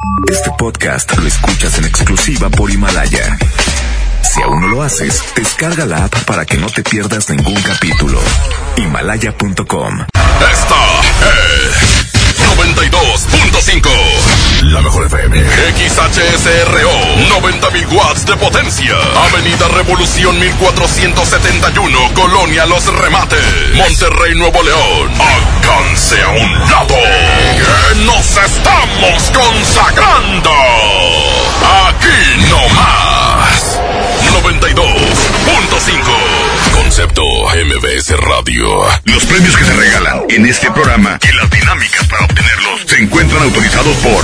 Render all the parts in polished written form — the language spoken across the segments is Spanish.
Este podcast lo escuchas en exclusiva por Himalaya. Si aún no lo haces, descarga la app para que no te pierdas ningún capítulo. Himalaya.com. Esta es 92.5. La mejor FM. XHSRO. 90.000 watts de potencia. Avenida Revolución 1471. Colonia Los Remates. Monterrey, Nuevo León. Alcance a un lado. Que nos estamos consagrando. Aquí no más. 92.5. Concepto MBS Radio. Los premios que se regalan en este programa y las dinámicas para obtenerlos se encuentran autorizados por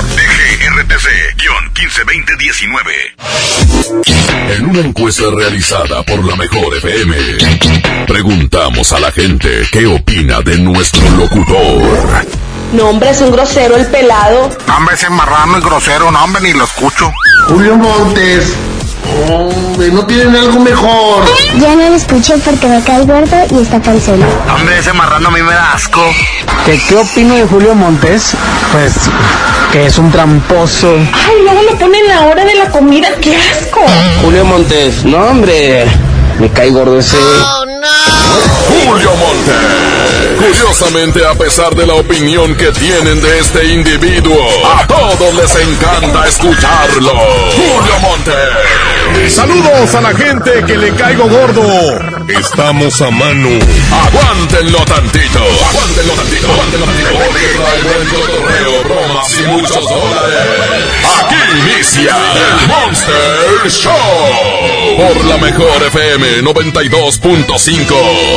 DGRTC-152019. En una encuesta realizada por la Mejor FM, preguntamos a la gente qué opina de nuestro locutor. No, hombre, es un grosero el pelado. Hombre, ese marrano es grosero, no, hombre, ni lo escucho. Julio Montes. Hombre, ¿no tienen algo mejor? Ya no lo escuché porque me cae gordo y está panzón. Hombre, ese marrano a mí me da asco. ¿Qué opino de Julio Montes? Pues que es un tramposo. Ay, luego lo ponen a la hora de la comida, ¡qué asco! Julio Montes, no hombre, me cae gordo ese. Oh, no. Julio Montes. Curiosamente, a pesar de la opinión que tienen de este individuo, a todos les encanta escucharlo. Julio Montes. Saludos a la gente que le caigo gordo. Estamos a mano. Aguántenlo tantito. Aguántenlo tantito. Porque trae buen cotorreo, bromas y muchos dólares. Aquí inicia el Monster Show. Por la Mejor FM 92.5.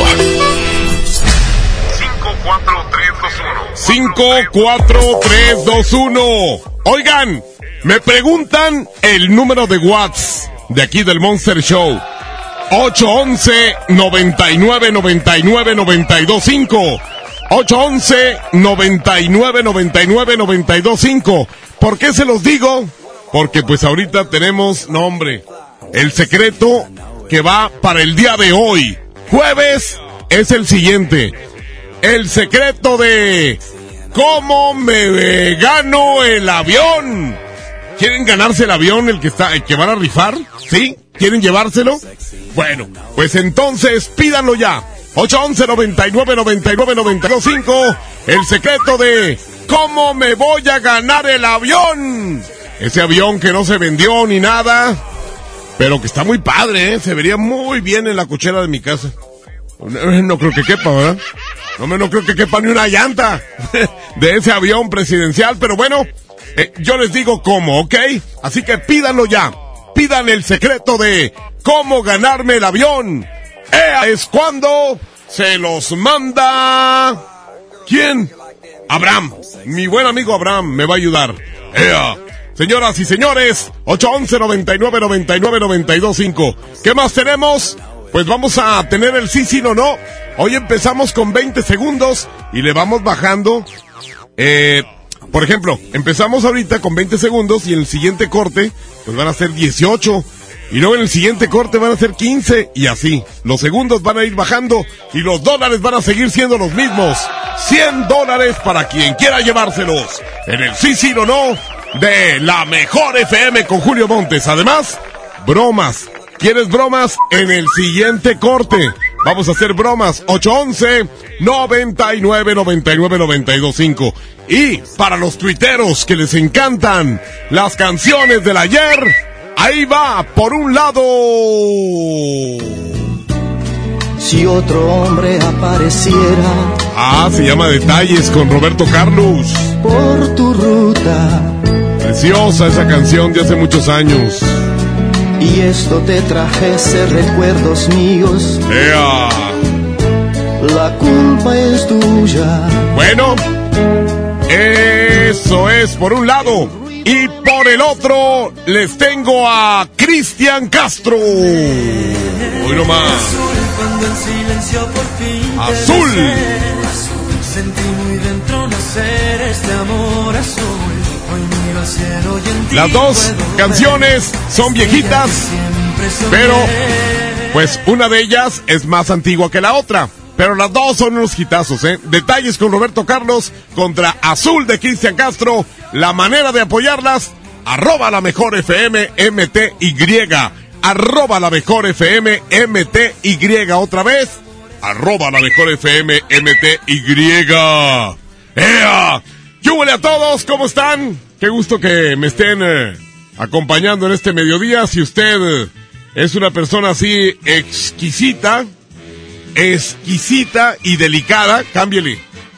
54321. Oigan, me preguntan el número de watts de aquí del Monster Show. 811-9999-925. 811-9999-925. ¿Por qué se los digo? Porque pues ahorita tenemos, no hombre, el secreto que va para el día de hoy. Jueves es el siguiente. El secreto de cómo me gano el avión. ¿Quieren ganarse el avión, el que van a rifar? ¿Sí? ¿Quieren llevárselo? Bueno, pues entonces pídanlo ya. 811-9999-925. El secreto de cómo me voy a ganar el avión. Ese avión que no se vendió ni nada, pero que está muy padre, ¿eh? Se vería muy bien en la cochera de mi casa. No creo que quepa, ¿verdad? No creo que quepa ni una llanta de ese avión presidencial, pero bueno, yo les digo cómo, ¿ok? Así que pídanlo ya. Pidan el secreto de cómo ganarme el avión. Es cuando se los manda... ¿Quién? Abraham. Mi buen amigo Abraham me va a ayudar. Señoras y señores, 811-9999-925. ¿Qué más tenemos? Pues vamos a tener el sí, no. Hoy empezamos con 20 segundos y le vamos bajando. Por ejemplo, empezamos ahorita con 20 segundos y en el siguiente corte pues van a ser 18. Y luego en el siguiente corte van a ser 15 y así. Los segundos van a ir bajando y los dólares van a seguir siendo los mismos. $100 para quien quiera llevárselos. En el sí, no de la Mejor FM con Julio Montes. Además, bromas. ¿Quieres bromas? En el siguiente corte vamos a hacer bromas. 811-9999-925. Y para los tuiteros que les encantan las canciones del ayer, ahí va, por un lado. Si otro hombre apareciera. Se llama Detalles con Roberto Carlos. Por tu ruta. Preciosa esa canción de hace muchos años. Y esto te trajese recuerdos míos. La culpa es tuya. Bueno, eso es por un lado. Y por el otro les tengo a Cristian Castro. Hoy nomás. Azul. Sentí muy dentro nacer este amor azul. Las dos canciones son viejitas, pero pues una de ellas es más antigua que la otra. Pero las dos son unos hitazos, ¿eh? Detalles con Roberto Carlos contra Azul de Cristian Castro. la manera de apoyarlas, @la mejor FM MTY, @la mejor FM MTY, otra vez, @la mejor FM MTY. ¡Ea! ¡Yúbele a todos! ¿Cómo están? Qué gusto que me estén acompañando en este mediodía. Si usted es una persona así exquisita y delicada, cámbiale.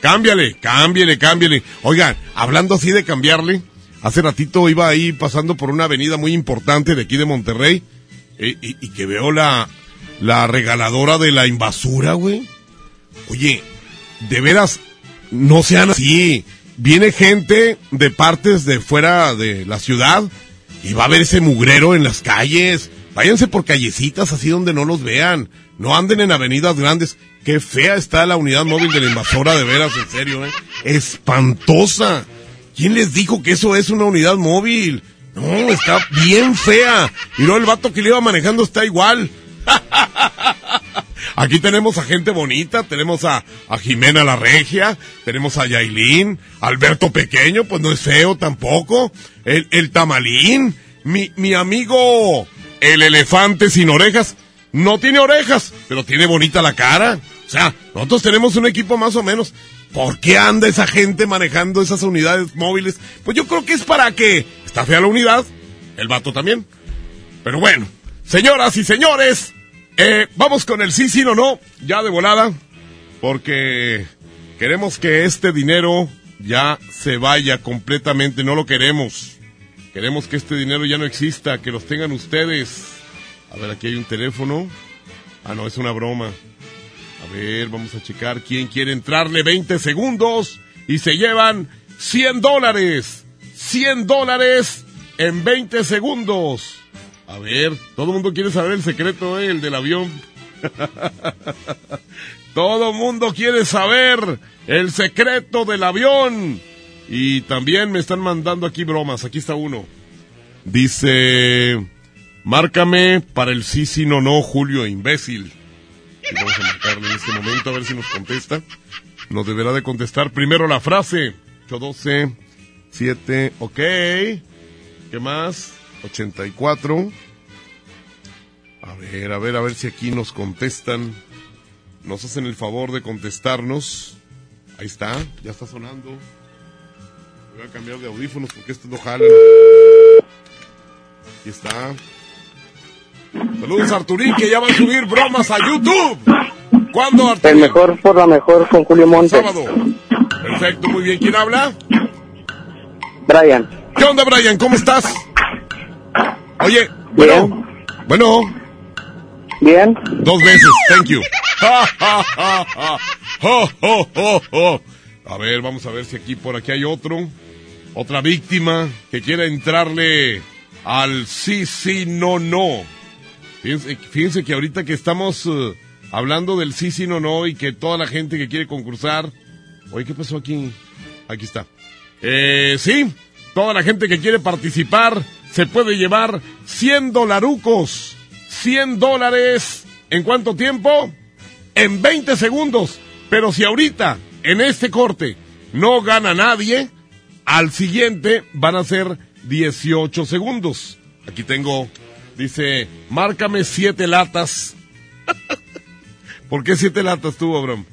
Oigan, hablando así de cambiarle, hace ratito iba ahí pasando por una avenida muy importante de aquí de Monterrey y que veo la regaladora de la invasura, güey. Oye, de veras, no sean así. Viene gente de partes de fuera de la ciudad y va a ver ese mugrero en las calles. Váyanse por callecitas así donde no los vean. No anden en avenidas grandes. Qué fea está la unidad móvil de la invasora, de veras, en serio, espantosa. ¿Quién les dijo que eso es una unidad móvil? No, está bien fea. Y luego el vato que le iba manejando está igual. Aquí tenemos a gente bonita, tenemos a Jimena la Regia, tenemos a Yailin, Alberto Pequeño, pues no es feo tampoco, el Tamalín, mi amigo el elefante sin orejas, no tiene orejas, pero tiene bonita la cara. O sea, nosotros tenemos un equipo más o menos. ¿Por qué anda esa gente manejando esas unidades móviles? Pues yo creo que es para que está fea la unidad, el vato también. Pero bueno, señoras y señores, vamos con el sí, no, ya de volada, porque queremos que este dinero ya se vaya completamente, no lo queremos. Queremos que este dinero ya no exista, que los tengan ustedes. A ver, aquí hay un teléfono. Ah, no, es una broma. A ver, vamos a checar quién quiere entrarle. 20 segundos y se llevan $100. $100 en 20 segundos. A ver, todo el mundo quiere saber el secreto, el del avión. Todo el mundo quiere saber el secreto del avión. Y también me están mandando aquí bromas. Aquí está uno. Dice: márcame para el sí, no, Julio, imbécil. Y vamos a marcarle en este momento a ver si nos contesta. Nos deberá de contestar primero la frase. 812 7, ok. ¿Qué más? 84. A ver si aquí nos contestan. Nos hacen el favor de contestarnos. Ahí está, ya está sonando. Voy a cambiar de audífonos porque estos no jalan. Aquí está. Saludos a Arturín, que ya va a subir bromas a YouTube. ¿Cuándo, Arturín? El mejor por la mejor con Julio Montes. Sábado. Perfecto, muy bien. ¿Quién habla? Brian. ¿Qué onda, Brian? ¿Cómo estás? Oye, bueno. Bien. 2 veces, thank you. A ver, vamos a ver si aquí por aquí hay otra víctima que quiera entrarle al sí, no. Fíjense que ahorita que estamos hablando del sí, no, y que toda la gente que quiere concursar. Oye, ¿qué pasó aquí? Aquí está. Sí, toda la gente que quiere participar se puede llevar $100. $100. ¿En cuánto tiempo? En 20 segundos. Pero si ahorita, en este corte, no gana nadie, al siguiente van a ser 18 segundos. Aquí tengo, dice, márcame 7 latas. ¿Por qué 7 latas tú, Abraham?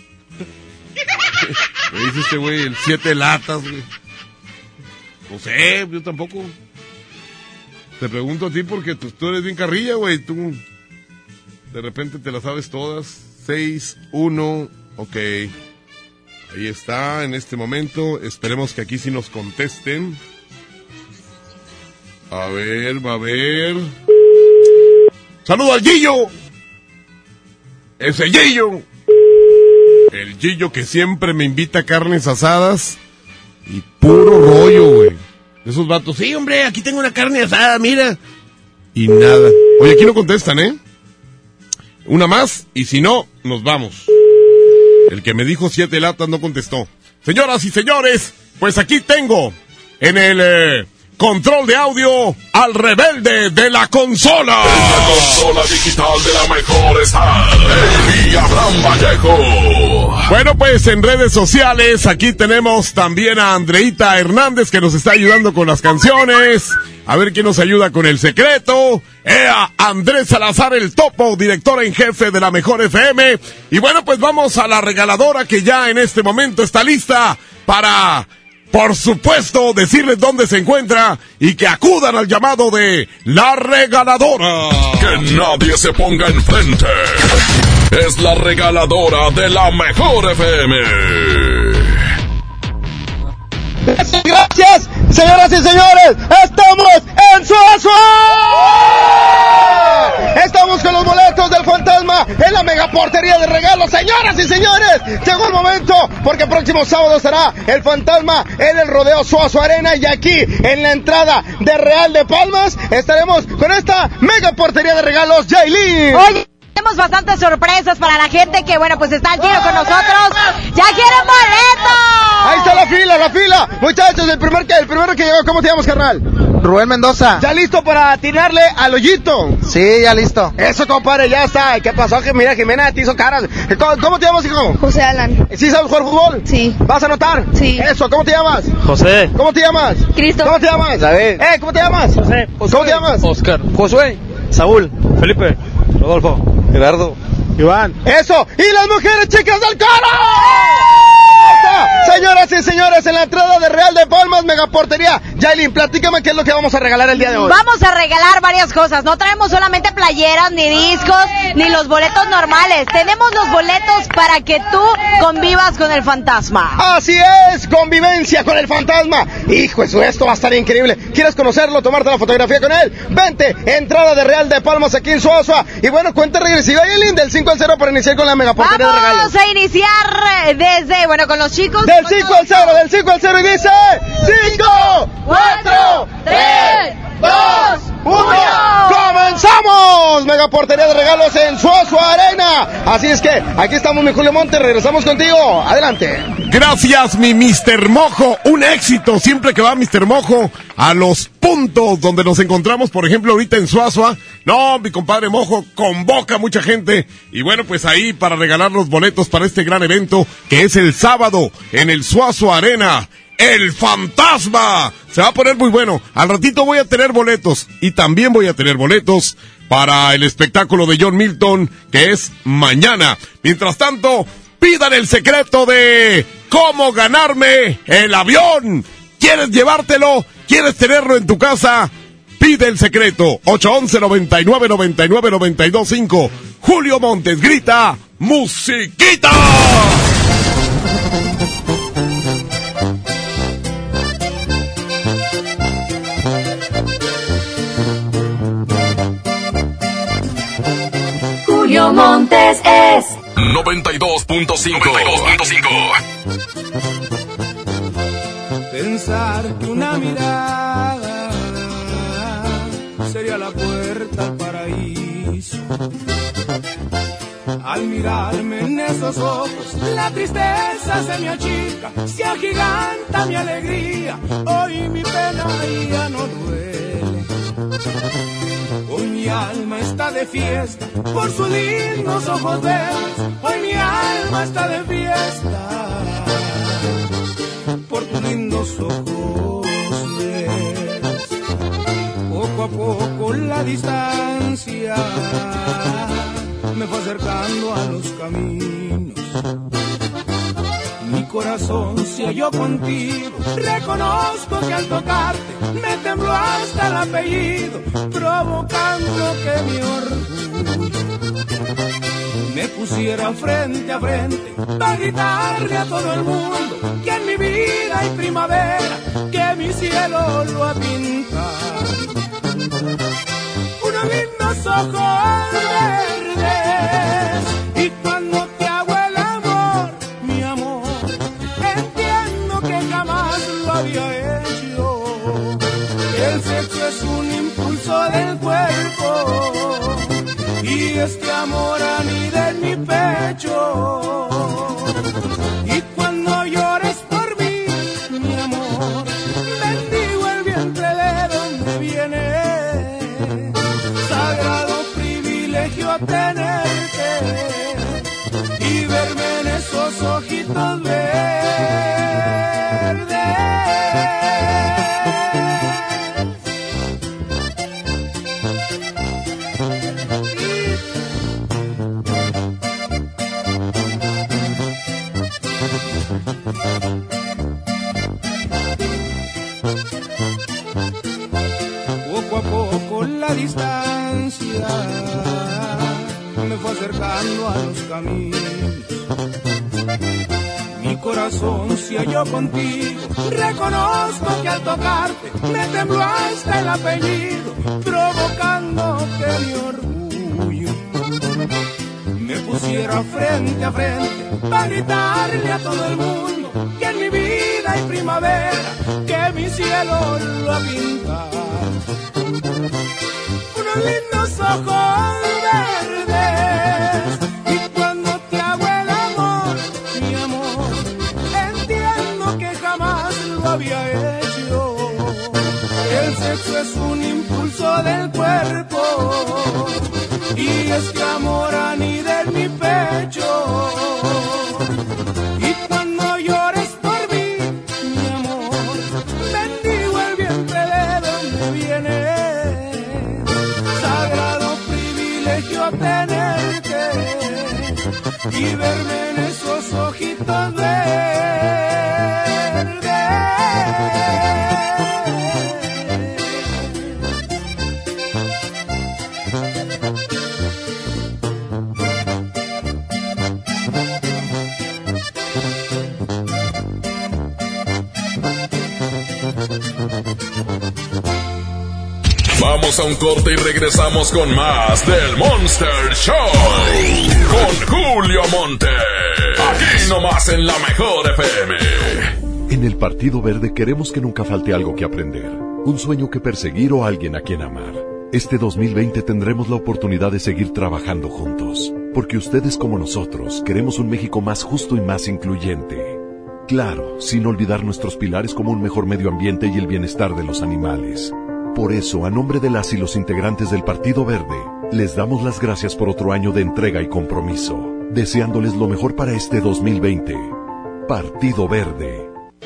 Me dice este güey, el 7 latas, güey. No sé, yo tampoco. Te pregunto a ti porque tú eres bien carrilla, güey. Tú de repente te las sabes todas. 6, 1, ok. Ahí está, en este momento. Esperemos que aquí sí nos contesten. A ver. ¡Saludo al Gillo! ¡Ese Gillo! El Gillo que siempre me invita a carnes asadas. Y puro rollo, güey. Esos vatos, sí, hombre, aquí tengo una carne asada, mira. Y nada. Oye, aquí no contestan, ¿eh? Una más, y si no, nos vamos. El que me dijo 7 latas no contestó. Señoras y señores, pues aquí tengo en el control de audio al rebelde de la consola. En la consola digital de la mejor está Amy Abraham Vallejo. Bueno, pues en redes sociales aquí tenemos también a Andreita Hernández que nos está ayudando con las canciones. A ver quién nos ayuda con el secreto. A Andrés Salazar, el Topo, director en jefe de la Mejor FM. Y bueno, pues vamos a la regaladora que ya en este momento está lista para, por supuesto, decirles dónde se encuentra y que acudan al llamado de la regaladora. Que nadie se ponga enfrente. Es la regaladora de la Mejor FM. Gracias, señoras y señores, estamos en Suazua. Estamos con los boletos del fantasma en la mega portería de regalos, señoras y señores. Llegó el momento porque el próximo sábado será el fantasma en el Rodeo Suazua Arena y aquí en la entrada de Real de Palmas estaremos con esta mega portería de regalos, Yailin. Oye, tenemos bastantes sorpresas para la gente que, bueno, pues está al tiro con nosotros. ¡Ya quieren boletos! Ahí está la fila. Muchachos, el primero que llegó, ¿cómo te llamas, carnal? Rubén Mendoza. ¿Ya listo para atinarle al hoyito? Sí, ya listo. Eso, compadre, ya está. ¿Qué pasó? Que mira, Jimena te hizo caras. ¿Cómo te llamas, hijo? José Alan. ¿Sí sabes jugar fútbol? Sí. ¿Vas a anotar? Sí. Eso, ¿cómo te llamas? José. ¿Cómo te llamas? Cristo. ¿Cómo te llamas? David. ¿Cómo te llamas? José. ¿Cómo te llamas? Oscar. Josué. Saúl. Felipe. Rodolfo. Gerardo. Iván. Eso. ¡Y las mujeres chicas del coro! Señoras y señores, en la entrada de Real de Palmas, megaportería. Yailin, platícame qué es lo que vamos a regalar el día de hoy. Vamos a regalar varias cosas. No traemos solamente playeras, ni discos, ni los boletos normales. Tenemos los boletos para que tú convivas con el fantasma. Así es, convivencia con el fantasma. Hijo, esto va a estar increíble. ¿Quieres conocerlo, tomarte la fotografía con él? Vente, entrada de Real de Palmas aquí en Suazua. Y bueno, cuenta regresiva, Yailin, del 5 al 0 para iniciar con la megaportería de regalos. Vamos a iniciar desde, bueno, con los chicos. Del 5 al 0 y dice 5, 4, 3, 2, 1. ¡Comenzamos! Megaportería de regalos en Suazua Arena. Así es que aquí estamos, mi Julio Montes. Regresamos contigo. Adelante. Gracias, mi Mr. Mojo. Un éxito siempre que va Mr. Mojo a los puntos donde nos encontramos, por ejemplo, ahorita en Suazua. No, mi compadre Mojo convoca a mucha gente. Y bueno, pues ahí para regalar los boletos para este gran evento que es el sábado en el Suazua Arena. ¡El fantasma! Se va a poner muy bueno. Al ratito voy a tener boletos. Y también voy a tener boletos para el espectáculo de John Milton, que es mañana. Mientras tanto, pidan el secreto de cómo ganarme el avión. ¿Quieres llevártelo? ¿Quieres tenerlo en tu casa? Pide el secreto. 811-9999-925. Julio Montes grita ¡musiquita! Julio Montes es 92.5. Pensar que una mirada sería la puerta al paraíso. Al mirarme en esos ojos, la tristeza se me achica, se agiganta mi alegría. Hoy mi pena ya no duele. Hoy mi alma está de fiesta por sus lindos ojos verdes. Hoy mi alma está de fiesta por tus lindos ojos verdes. Poco a poco la distancia me fue acercando a los caminos. Mi corazón se halló contigo. Reconozco que al tocarte me tembló hasta el apellido, provocando que mi orgullo me pusiera frente a frente para gritarle a todo el mundo que en mi vida hay primavera, que mi cielo lo ha pintado. Unos lindos ojos verdes, y cuando te hago el amor, mi amor, entiendo que jamás lo había hecho. El sexo es un impulso del cuerpo y este amor anida en mi pecho. Y cuando llores por mí, mi amor, bendigo el vientre de tenerte y verme en esos ojitos verdes. Poco a poco la distancia me fue acercando a los caminos. Mi corazón se halló contigo. Reconozco que al tocarte me tembló hasta el apellido, provocando que mi orgullo me pusiera frente a frente para gritarle a todo el mundo que en mi vida hay primavera, que mi cielo lo ha pintado. Unos lindos ojos verdes, y cuando te hago el amor, mi amor, entiendo que jamás lo había hecho. El sexo es un impulso del cuerpo, y es que amor anida en mi pecho. Y cuando llores por mí, mi amor, bendigo el vientre de donde viene. Sagrado privilegio tenerte y verme en esos ojitos verdes. Vamos a un corte y regresamos con más del Monster Show con Julio Monte. Aquí nomás en la Mejor FM. En el Partido Verde queremos que nunca falte algo que aprender, un sueño que perseguir o alguien a quien amar. Este 2020 tendremos la oportunidad de seguir trabajando juntos, porque ustedes como nosotros queremos un México más justo y más incluyente. Claro, sin olvidar nuestros pilares como un mejor medio ambiente y el bienestar de los animales. Por eso, a nombre de las y los integrantes del Partido Verde, les damos las gracias por otro año de entrega y compromiso, deseándoles lo mejor para este 2020. Partido Verde.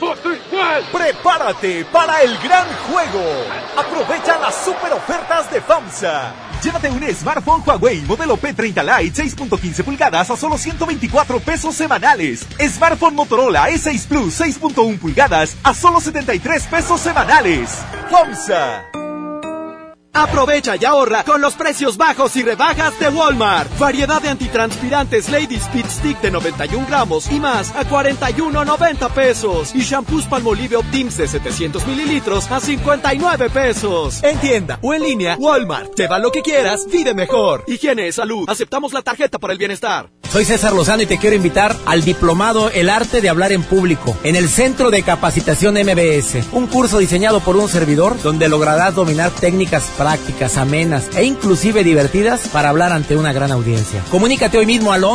¡Prepárate para el gran juego! ¡Aprovecha las super ofertas de FAMSA! Llévate un smartphone Huawei modelo P30 Lite 6.15 pulgadas a solo 124 pesos semanales. Smartphone Motorola E6 Plus 6.1 pulgadas a solo 73 pesos semanales. FAMSA. Aprovecha y ahorra con los precios bajos y rebajas de Walmart. Variedad de antitranspirantes Lady Speed Stick de 91 gramos y más a 41.90 pesos. Y shampoos Palmolive Optims de 700 mililitros a 59 pesos. En tienda o en línea, Walmart. Lleva lo que quieras, vive mejor. Higiene, salud. Aceptamos la tarjeta para el bienestar. Soy César Lozano y te quiero invitar al diplomado El Arte de Hablar en Público en el Centro de Capacitación MBS. Un curso diseñado por un servidor donde lograrás dominar técnicas prácticas, amenas e inclusive divertidas para hablar ante una gran audiencia. Comunícate hoy mismo al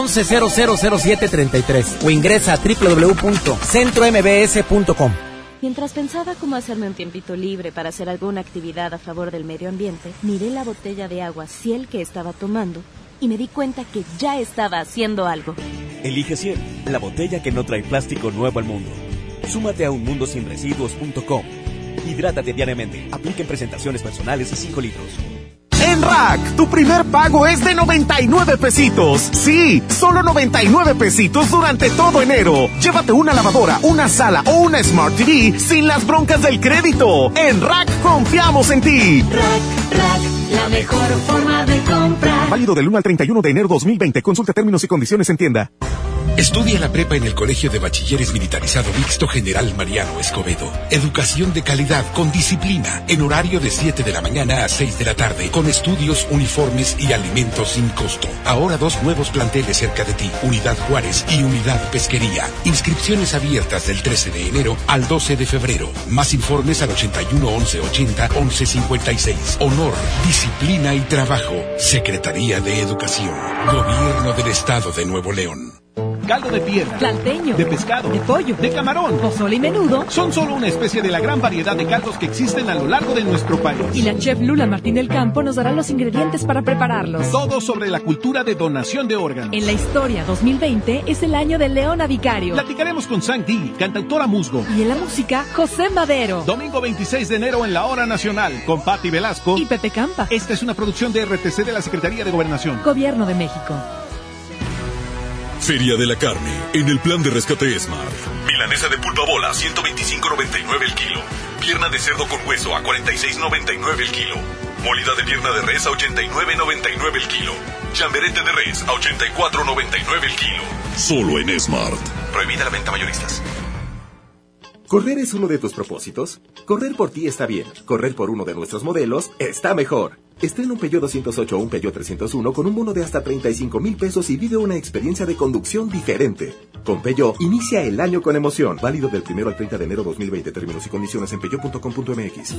11000733 o ingresa a www.centrombs.com. Mientras pensaba cómo hacerme un tiempito libre para hacer alguna actividad a favor del medio ambiente, miré la botella de agua Ciel que estaba tomando y me di cuenta que ya estaba haciendo algo. Elige Ciel, la botella que no trae plástico nuevo al mundo. Súmate a unmundosinresiduos.com. Hidrátate diariamente. Aplica en presentaciones personales y 5 litros. En Rack, tu primer pago es de 99 pesitos. Sí, solo 99 pesitos durante todo enero. Llévate una lavadora, una sala o una Smart TV sin las broncas del crédito. En Rack confiamos en ti. Rack, la mejor forma de comprar. Válido del 1 al 31 de enero 2020. Consulta términos y condiciones en tienda. Estudia la prepa en el Colegio de Bachilleres Militarizado Mixto General Mariano Escobedo. Educación de calidad con disciplina, en horario de 7 de la mañana a 6 de la tarde, con estudios, uniformes y alimentos sin costo. Ahora 2 nuevos planteles cerca de ti, Unidad Juárez y Unidad Pesquería. Inscripciones abiertas del 13 de enero al 12 de febrero. Más informes al 81 11 80 11 56. Honor, disciplina y trabajo. Secretaría de Educación. Gobierno del Estado de Nuevo León. caldo de piedra, tlalteño, de pescado, de pollo, de camarón, pozole y menudo. Son solo una especie de la gran variedad de caldos que existen a lo largo de nuestro país. Y la chef Lula Martín del Campo nos dará los ingredientes para prepararlos. Todo sobre la cultura de donación de órganos. En la historia, 2020 es el año de Leona Vicario. Platicaremos con Sang Di, cantautora musgo. Y en la música, José Madero. Domingo 26 de enero en la Hora Nacional, con Patti Velasco y Pepe Campa. Esta es una producción de RTC de la Secretaría de Gobernación. Gobierno de México. Feria de la Carne, en el plan de rescate Smart. Milanesa de pulpa bola, 125.99 el kilo. Pierna de cerdo con hueso a 46.99 el kilo. Molida de pierna de res a 89.99 el kilo. Chamberete de res a 84.99 el kilo. Solo en Smart. Prohibida la venta mayoristas. ¿Correr es uno de tus propósitos? Correr por ti está bien. Correr por uno de nuestros modelos está mejor. Estrena un Peugeot 208 o un Peugeot 301 con un bono de hasta 35,000 pesos y vive una experiencia de conducción diferente. Con Peugeot, inicia el año con emoción. Válido del 1 al 30 de enero 2020. Términos y condiciones en peugeot.com.mx.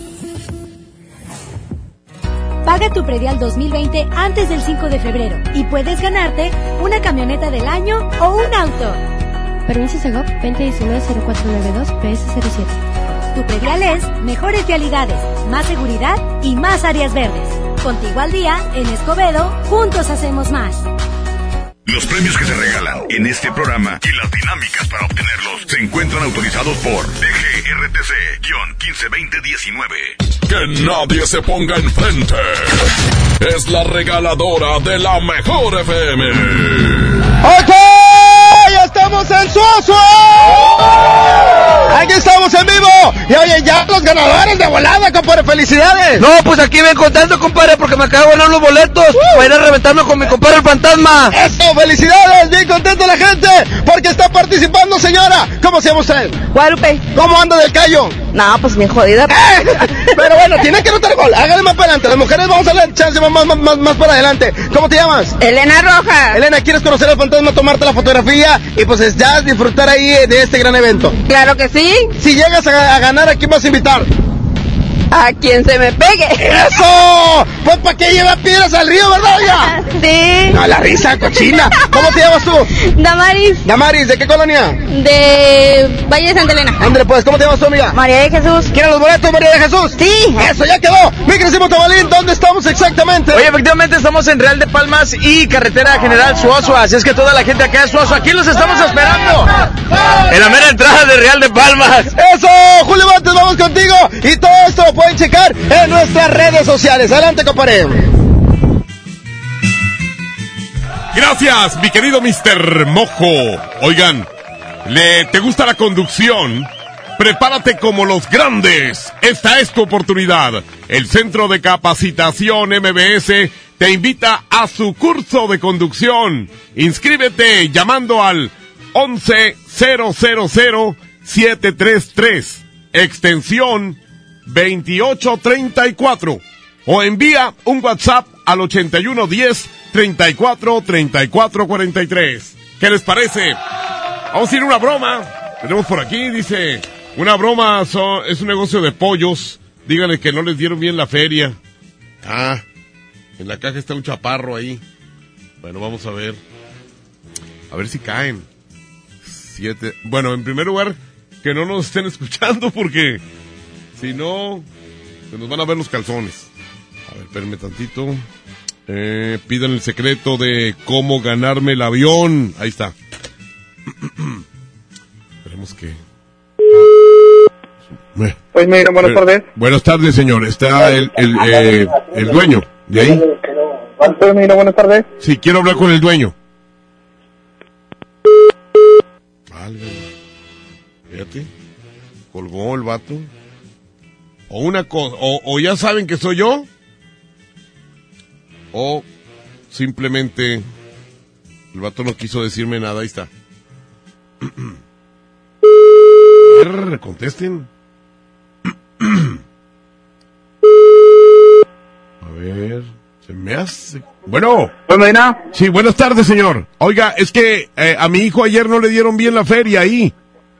Paga tu predial 2020 antes del 5 de febrero y puedes ganarte una camioneta del año o un auto. Permiso Segov 2019-0492 PS07. Tu predial es mejores vialidades, más seguridad y más áreas verdes. Contigo al día, en Escobedo, juntos hacemos más. Los premios que se regalan en este programa y las dinámicas para obtenerlos se encuentran autorizados por DGRTC-152019. Que nadie se ponga enfrente. Es la regaladora de la mejor FM. ¡Ok! ¡Ya estamos en Suazo! ¡Aquí estamos en vivo! Y oye, ya los ganadores de volada, compadre, ¡felicidades! No, pues aquí ven contento, compadre, porque me acabo de ganar los boletos para ir a reventarme con mi compadre el fantasma. ¡Eso, felicidades! Bien contenta la gente, porque está participando, señora. ¿Cómo se llama usted? Guadalupe. ¿Cómo anda del callo? No, pues bien jodida. Pero bueno, tiene que anotar gol. Hágale más para adelante. Las mujeres vamos a darle chance más para adelante. ¿Cómo te llamas? Elena Rojas. Elena, ¿quieres conocer al fantasma, tomarte la fotografía y pues ya disfrutar ahí de este gran evento? Claro que sí. Si llegas a ganar, ¿a quién vas a invitar? A quien se me pegue. ¡Eso! Pues para qué lleva piedras al río, ¿verdad, ya? Sí. No, la risa cochina. ¿Cómo te llamas tú? Damaris. Damaris, ¿de qué colonia? De Valle de Santa Elena. Ándale, pues, ¿cómo te llamas tú, amiga? María de Jesús. ¿Quieres los boletos, María de Jesús? Sí. Eso, ya quedó. Mi queridísimo Tabalín, ¿dónde estamos exactamente? Oye, efectivamente estamos en Real de Palmas y Carretera General Suazo. Así es que toda la gente acá de Suazo, aquí los estamos esperando. En la mera entrada de Real de Palmas. Eso, Julio Montes, vamos contigo. Y todo esto lo pueden checar en nuestras redes sociales. Adelante, compadre. Gracias, mi querido Mr. Mojo. Oigan, ¿te gusta la conducción? Prepárate como los grandes. Esta es tu oportunidad. El Centro de Capacitación MBS te invita a su curso de conducción. Inscríbete llamando al 11-000-733, extensión 2834, o envía un WhatsApp al 8110-343443. ¿Qué les parece? Vamos a ir a una broma. Tenemos por aquí, dice, una broma es un negocio de pollos. Díganle que no les dieron bien la feria. Ah, en la caja está un chaparro ahí. Bueno, vamos a ver. A ver si caen. 7. Bueno, en primer lugar, que no nos estén escuchando porque si no, se nos van a ver los calzones. A ver, espérenme tantito. Pidan el secreto de cómo ganarme el avión. Ahí está. Esperemos que... Pues mira, buenas tardes. Buenas tardes, señor. Está el dueño de ahí. Pues mira, buenas tardes. Sí, quiero hablar con el dueño. Válgame. Fíjate. Colgó el vato. O una cosa, o ya saben que soy yo, o simplemente el vato no quiso decirme nada. Ahí está. Contesten. A ver, se me hace... Bueno. Sí, buenas tardes, señor. Oiga, es que a mi hijo ayer no le dieron bien la feria ahí.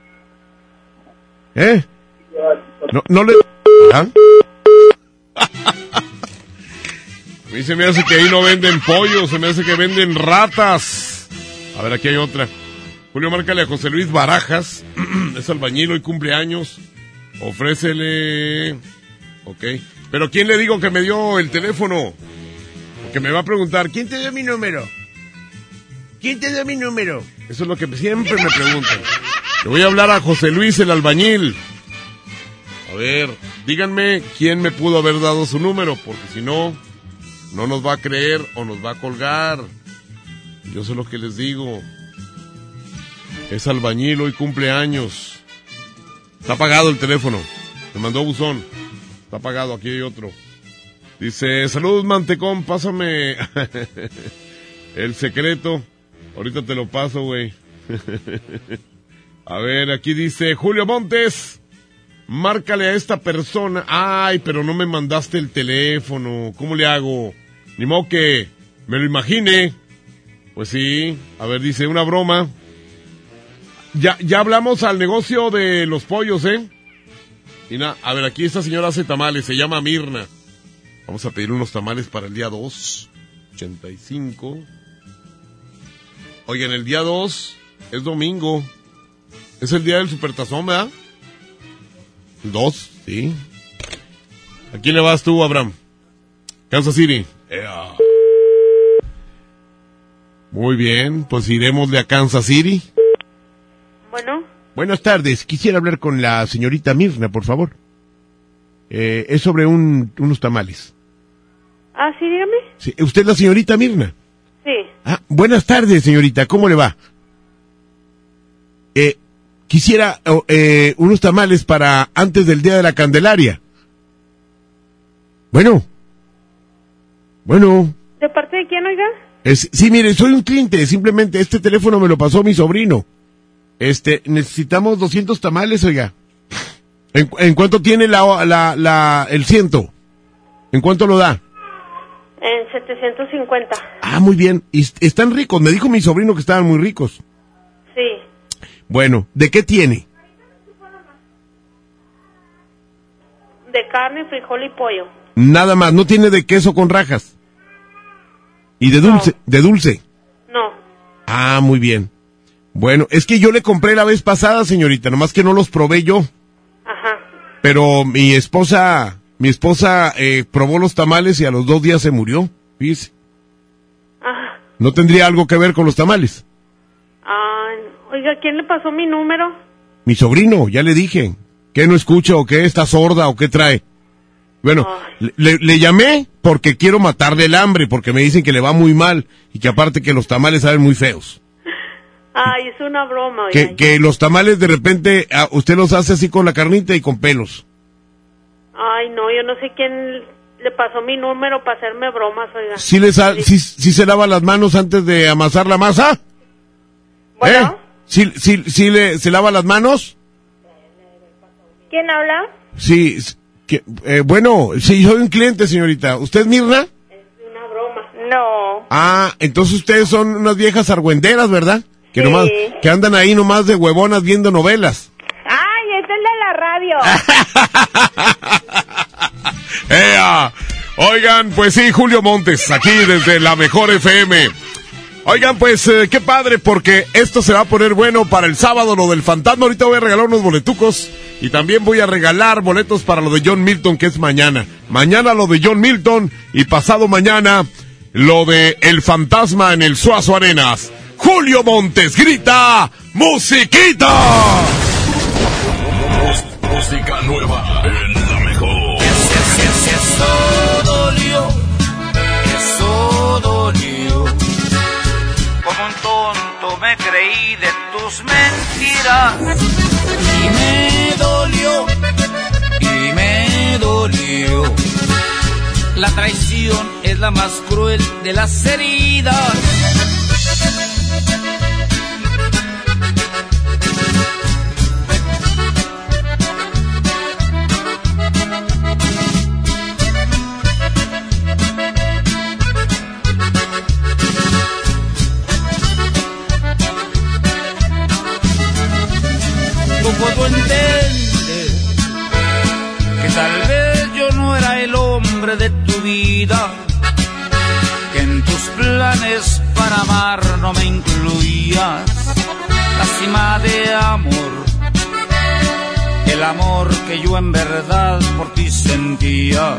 No le... ¿Ah? A mí se me hace que ahí no venden pollo, se me hace que venden ratas. A ver, aquí hay otra. Julio, márcale a José Luis Barajas, es albañil, hoy cumpleaños, ofrécele... Ok, pero ¿quién le digo que me dio el teléfono? Porque me va a preguntar, ¿quién te dio mi número? ¿Quién te dio mi número? Eso es lo que siempre me preguntan. Le voy a hablar a José Luis, el albañil. A ver, díganme quién me pudo haber dado su número, porque si no, no nos va a creer o nos va a colgar. Yo sé lo que les digo. Es albañil, hoy cumpleaños. Está apagado el teléfono. Me mandó buzón. Está apagado, aquí hay otro. Dice, saludos mantecón, pásame el secreto. Ahorita te lo paso, güey. A ver, aquí dice, Julio Montes, márcale a esta persona. Ay, pero no me mandaste el teléfono. ¿Cómo le hago? Ni modo que me lo imagine. Pues sí. A ver, dice, una broma. Ya hablamos al negocio de los pollos, ¿eh? Y nada, a ver, aquí esta señora hace tamales, se llama Mirna. Vamos a pedir unos tamales para el día 2, 85. Oigan, el día 2 es domingo. Es el día del supertazón, ¿verdad? 2, sí. ¿A quién le vas tú, Abraham? Kansas City. Muy bien, pues iremosle a Kansas City. Bueno. Buenas tardes, quisiera hablar con la señorita Mirna, por favor. Es sobre unos tamales. Ah, sí, dígame. Sí, ¿usted es la señorita Mirna? Sí. Ah, buenas tardes, señorita, ¿cómo le va? Quisiera unos tamales para antes del Día de la Candelaria. Bueno. ¿De parte de quién, oiga? Sí, mire, soy un cliente, simplemente este teléfono me lo pasó mi sobrino. Necesitamos 200 tamales, oiga. ¿En cuánto tiene el 100? ¿En cuánto lo da? En 750. Ah, muy bien. Y están ricos, me dijo mi sobrino que estaban muy ricos. Sí. Bueno, ¿de qué tiene? De carne, frijol y pollo. Nada más, no tiene de queso con rajas. ¿Y de dulce? No. ¿De dulce? No. Ah, muy bien. Bueno, es que yo le compré la vez pasada, señorita, nomás que no los probé yo. Ajá. Pero mi esposa probó los tamales y a los 2 días se murió, fíjese. Ajá. ¿No tendría algo que ver con los tamales? Oiga, ¿quién le pasó mi número? Mi sobrino, ya le dije. ¿Qué no escucha o qué está sorda o qué trae? Bueno, le llamé porque quiero matarle el hambre, porque me dicen que le va muy mal y que aparte que los tamales saben muy feos. Ay, es una broma, oiga. Que los tamales de repente usted los hace así con la carnita y con pelos. Ay, no, yo no sé quién le pasó mi número para hacerme bromas, oiga. ¿Sí se lava las manos antes de amasar la masa? ¿Bueno? ¿Se lava las manos? ¿Quién habla? Sí, bueno, sí, soy un cliente, señorita. ¿Usted es Mirna? Es una broma. No. Ah, entonces ustedes son unas viejas argüenderas, ¿verdad? Que sí. Que andan ahí nomás de huevonas viendo novelas. ¡Ay, es el de la radio! Oigan, pues sí, Julio Montes, aquí desde la Mejor FM. Oigan, pues qué padre, porque esto se va a poner bueno para el sábado, lo del fantasma. Ahorita voy a regalar unos boletucos y también voy a regalar boletos para lo de John Milton, que es mañana. Mañana lo de John Milton y pasado mañana lo de El Fantasma en el Suazo Arenas. Julio Montes grita ¡musiquita! Música nueva en la Mejor. Eso dolió. Como un tonto me creí de tus mentiras. Y me dolió. La traición es la más cruel de las heridas. No puedo entender que tal vez yo no era el hombre de tu vida, que en tus planes para amar no me incluías. Las décima de amor, el amor que yo en verdad por ti sentía.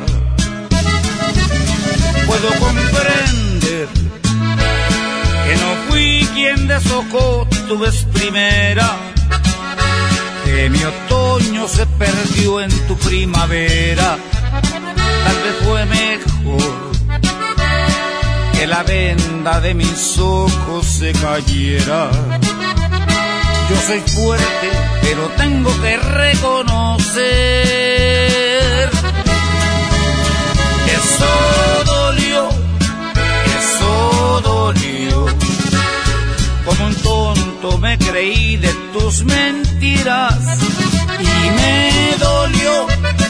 Puedo comprender que no fui quien deshojó tu vez primera, que mi otoño se perdió en tu primavera. Tal vez fue mejor que la venda de mis ojos se cayera. Yo soy fuerte, pero tengo que reconocer que eso dolió. Como un tonto me creí de tus mentiras y me dolió.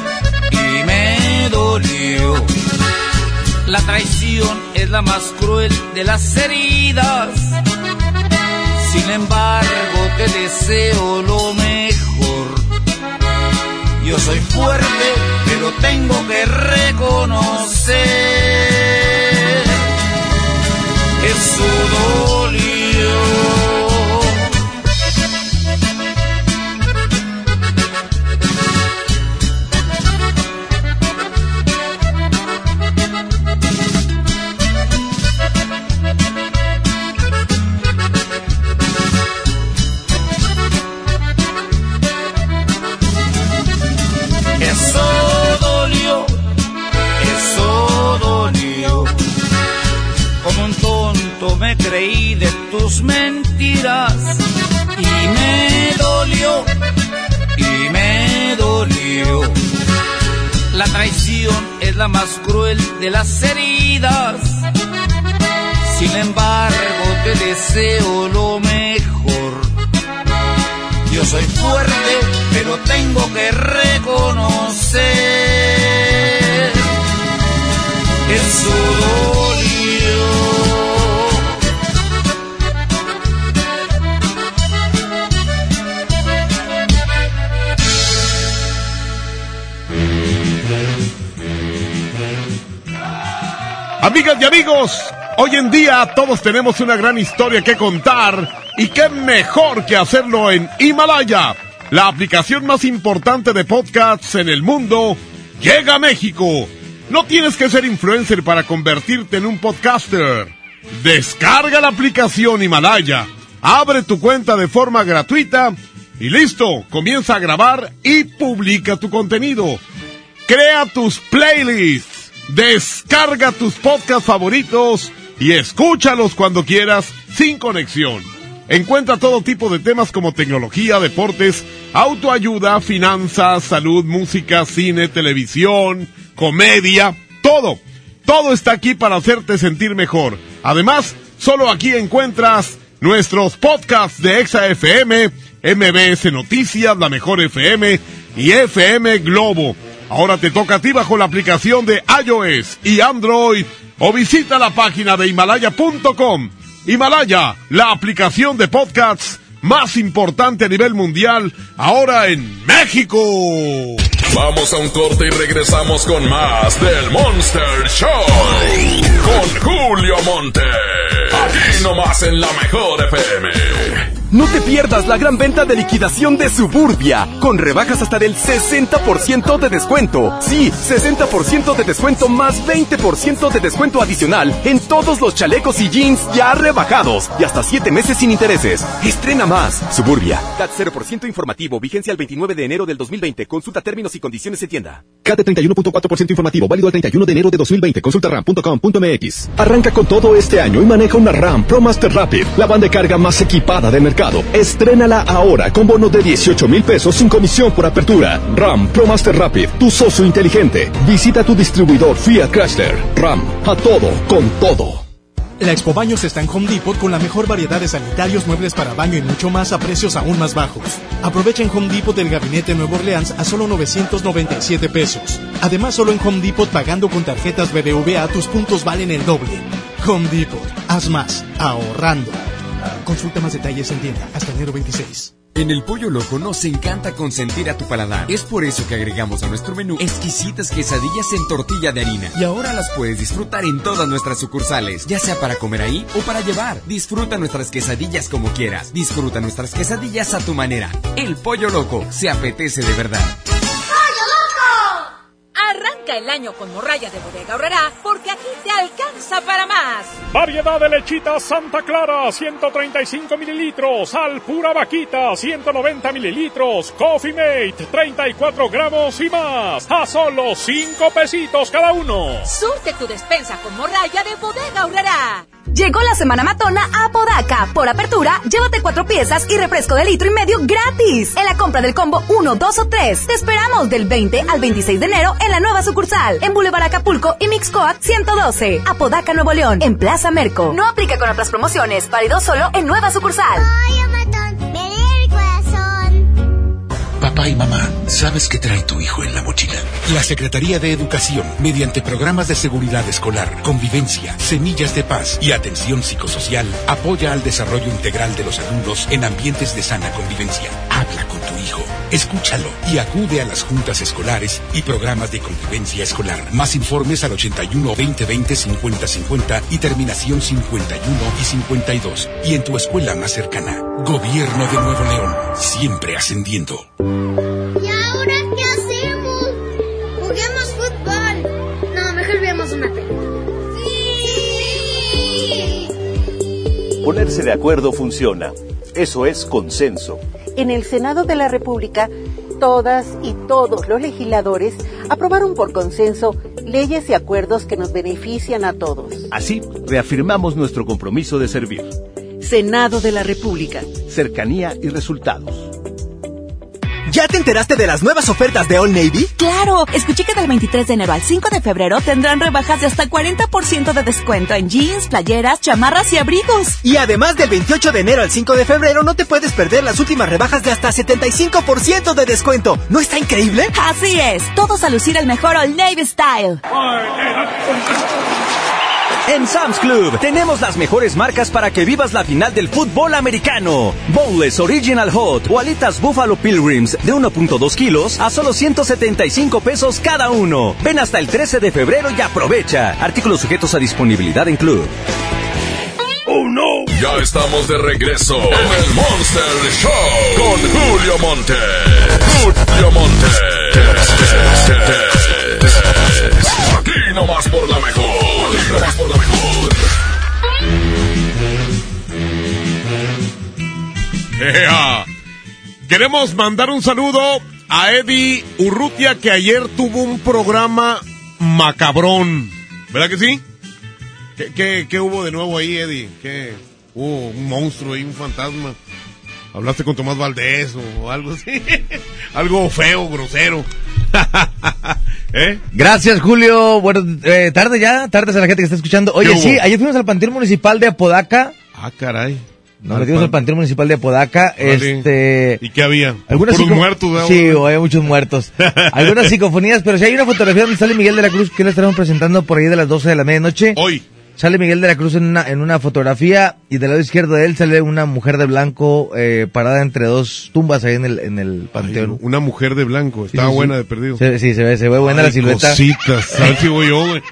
La traición es la más cruel de las heridas. Sin embargo, te deseo lo mejor. Yo soy fuerte, pero tengo que reconocer que eso dolió. Me creí de tus mentiras y me dolió. La traición es la más cruel de las heridas. Sin embargo, te deseo lo mejor. Yo soy fuerte, pero tengo que reconocer que eso dolió. Amigas y amigos, hoy en día todos tenemos una gran historia que contar y qué mejor que hacerlo en Himalaya, la aplicación más importante de podcasts en el mundo, llega a México. No tienes que ser influencer para convertirte en un podcaster. Descarga la aplicación Himalaya, abre tu cuenta de forma gratuita y listo, comienza a grabar y publica tu contenido. Crea tus playlists. Descarga tus podcasts favoritos y escúchalos cuando quieras, sin conexión. Encuentra todo tipo de temas como tecnología, deportes, autoayuda, finanzas, salud, música, cine, televisión, comedia, todo. Todo está aquí para hacerte sentir mejor. Además, solo aquí encuentras nuestros podcasts de Exa FM, MBS Noticias, La Mejor FM y FM Globo. Ahora te toca a ti bajo la aplicación de iOS y Android o visita la página de Himalaya.com. Himalaya, la aplicación de podcasts más importante a nivel mundial, ahora en México. Vamos a un corte y regresamos con más del Monster Show con Julio Monte. Aquí nomás en La Mejor FM. No te pierdas la gran venta de liquidación de Suburbia, con rebajas hasta del 60% de descuento. Sí, 60% de descuento más 20% de descuento adicional en todos los chalecos y jeans ya rebajados y hasta 7 meses sin intereses. Estrena más. Suburbia. CAT 0% informativo, vigencia el 29 de enero del 2020. Consulta términos y condiciones en tienda. CAT 31.4% informativo, válido el 31 de enero de 2020. Consulta ram.com.mx. Arranca con todo este año y maneja una RAM ProMaster Rapid, la van de carga más equipada de mercado. Estrénala ahora con bono de 18,000 pesos sin comisión por apertura. RAM ProMaster Rapid, tu socio inteligente. Visita tu distribuidor Fiat Chrysler. RAM, a todo, con todo. La Expo Baños está en Home Depot con la mejor variedad de sanitarios, muebles para baño y mucho más a precios aún más bajos. Aprovecha en Home Depot el gabinete Nuevo Orleans a solo 997 pesos. Además, solo en Home Depot pagando con tarjetas BBVA tus puntos valen el doble. Home Depot, haz más, ahorrando. Consulta más detalles en tienda hasta enero 26. En el Pollo Loco nos encanta consentir a tu paladar. Es por eso que agregamos a nuestro menú exquisitas quesadillas en tortilla de harina. Y ahora las puedes disfrutar en todas nuestras sucursales, ya sea para comer ahí o para llevar. Disfruta nuestras quesadillas como quieras. Disfruta nuestras quesadillas a tu manera. El Pollo Loco se apetece de verdad. Arranca el año con morralla de Bodega Aurrerá, porque aquí te alcanza para más. Variedad de lechitas Santa Clara, 135 mililitros. Alpura Vaquita, 190 mililitros. Coffee Mate, 34 gramos y más. A solo 5 pesitos cada uno. Surte tu despensa con morralla de Bodega Aurrerá. Llegó la Semana Matona a Apodaca. Por apertura, llévate 4 piezas y refresco de 1,5 litros gratis. En la compra del combo 1, 2 o 3. Te esperamos del 20 al 26 de enero en la nueva sucursal. En Boulevard Acapulco y Mixcoac 112. Apodaca, Nuevo León. En Plaza Merco. No aplica con otras promociones. Válido solo en nueva sucursal. Papá y mamá, ¿sabes qué trae tu hijo en la mochila? La Secretaría de Educación, mediante programas de seguridad escolar, convivencia, semillas de paz y atención psicosocial, apoya al desarrollo integral de los alumnos en ambientes de sana convivencia. Habla con tu hijo, escúchalo y acude a las juntas escolares y programas de convivencia escolar. Más informes al 81 2020 5050 y terminación 51 y 52. Y en tu escuela más cercana. Gobierno de Nuevo León, siempre ascendiendo. ¿Y ahora qué hacemos? Juguemos fútbol. No, mejor veamos una película. ¡Sí! Ponerse de acuerdo funciona. Eso es consenso. En el Senado de la República, todas y todos los legisladores aprobaron por consenso leyes y acuerdos que nos benefician a todos. Así, reafirmamos nuestro compromiso de servir. Senado de la República. Cercanía y resultados. ¿Ya te enteraste de las nuevas ofertas de Old Navy? ¡Claro! Escuché que del 23 de enero al 5 de febrero tendrán rebajas de hasta 40% de descuento en jeans, playeras, chamarras y abrigos. Y además del 28 de enero al 5 de febrero no te puedes perder las últimas rebajas de hasta 75% de descuento. ¿No está increíble? Así es, todos a lucir el mejor Old Navy Style. En Sam's Club tenemos las mejores marcas para que vivas la final del fútbol americano. Boneless Original Hot o alitas Buffalo Pilgrims de 1.2 kilos a solo 175 pesos cada uno. Ven hasta el 13 de febrero y aprovecha. Artículos sujetos a disponibilidad en Club. ¡Oh, no! Ya estamos de regreso en el Monster Show con Julio Monte. Julio Monte. Aquí nomás por la mejor. Aquí nomás por la mejor. Queremos mandar un saludo a Eddie Urrutia, que ayer tuvo un programa macabrón. ¿Verdad que sí? ¿Qué hubo de nuevo ahí, Eddie? ¿Qué? Hubo un monstruo ahí, un fantasma. ¿Hablaste con Tomás Valdés o algo así? Algo feo, grosero. Gracias, Julio. Bueno, tardes a la gente que está escuchando. Oye, sí, ayer fuimos al Panteón Municipal de Apodaca. Ah, caray. Nos metimos al Panteón Municipal de Apodaca. Vale. ¿Y qué había? Algunos muertos, ¿no? Sí, había muchos muertos. Algunas psicofonías, pero si hay una fotografía donde sale Miguel de la Cruz, que le estaremos presentando por ahí de las 12 de la medianoche. Hoy. Sale Miguel de la Cruz en una fotografía, y del lado izquierdo de él sale una mujer de blanco parada entre dos tumbas ahí en el panteón. Ay, una mujer de blanco, estaba buena de perdido. Sí, se ve buena la silueta. Cositas, a ver si voy yo, güey.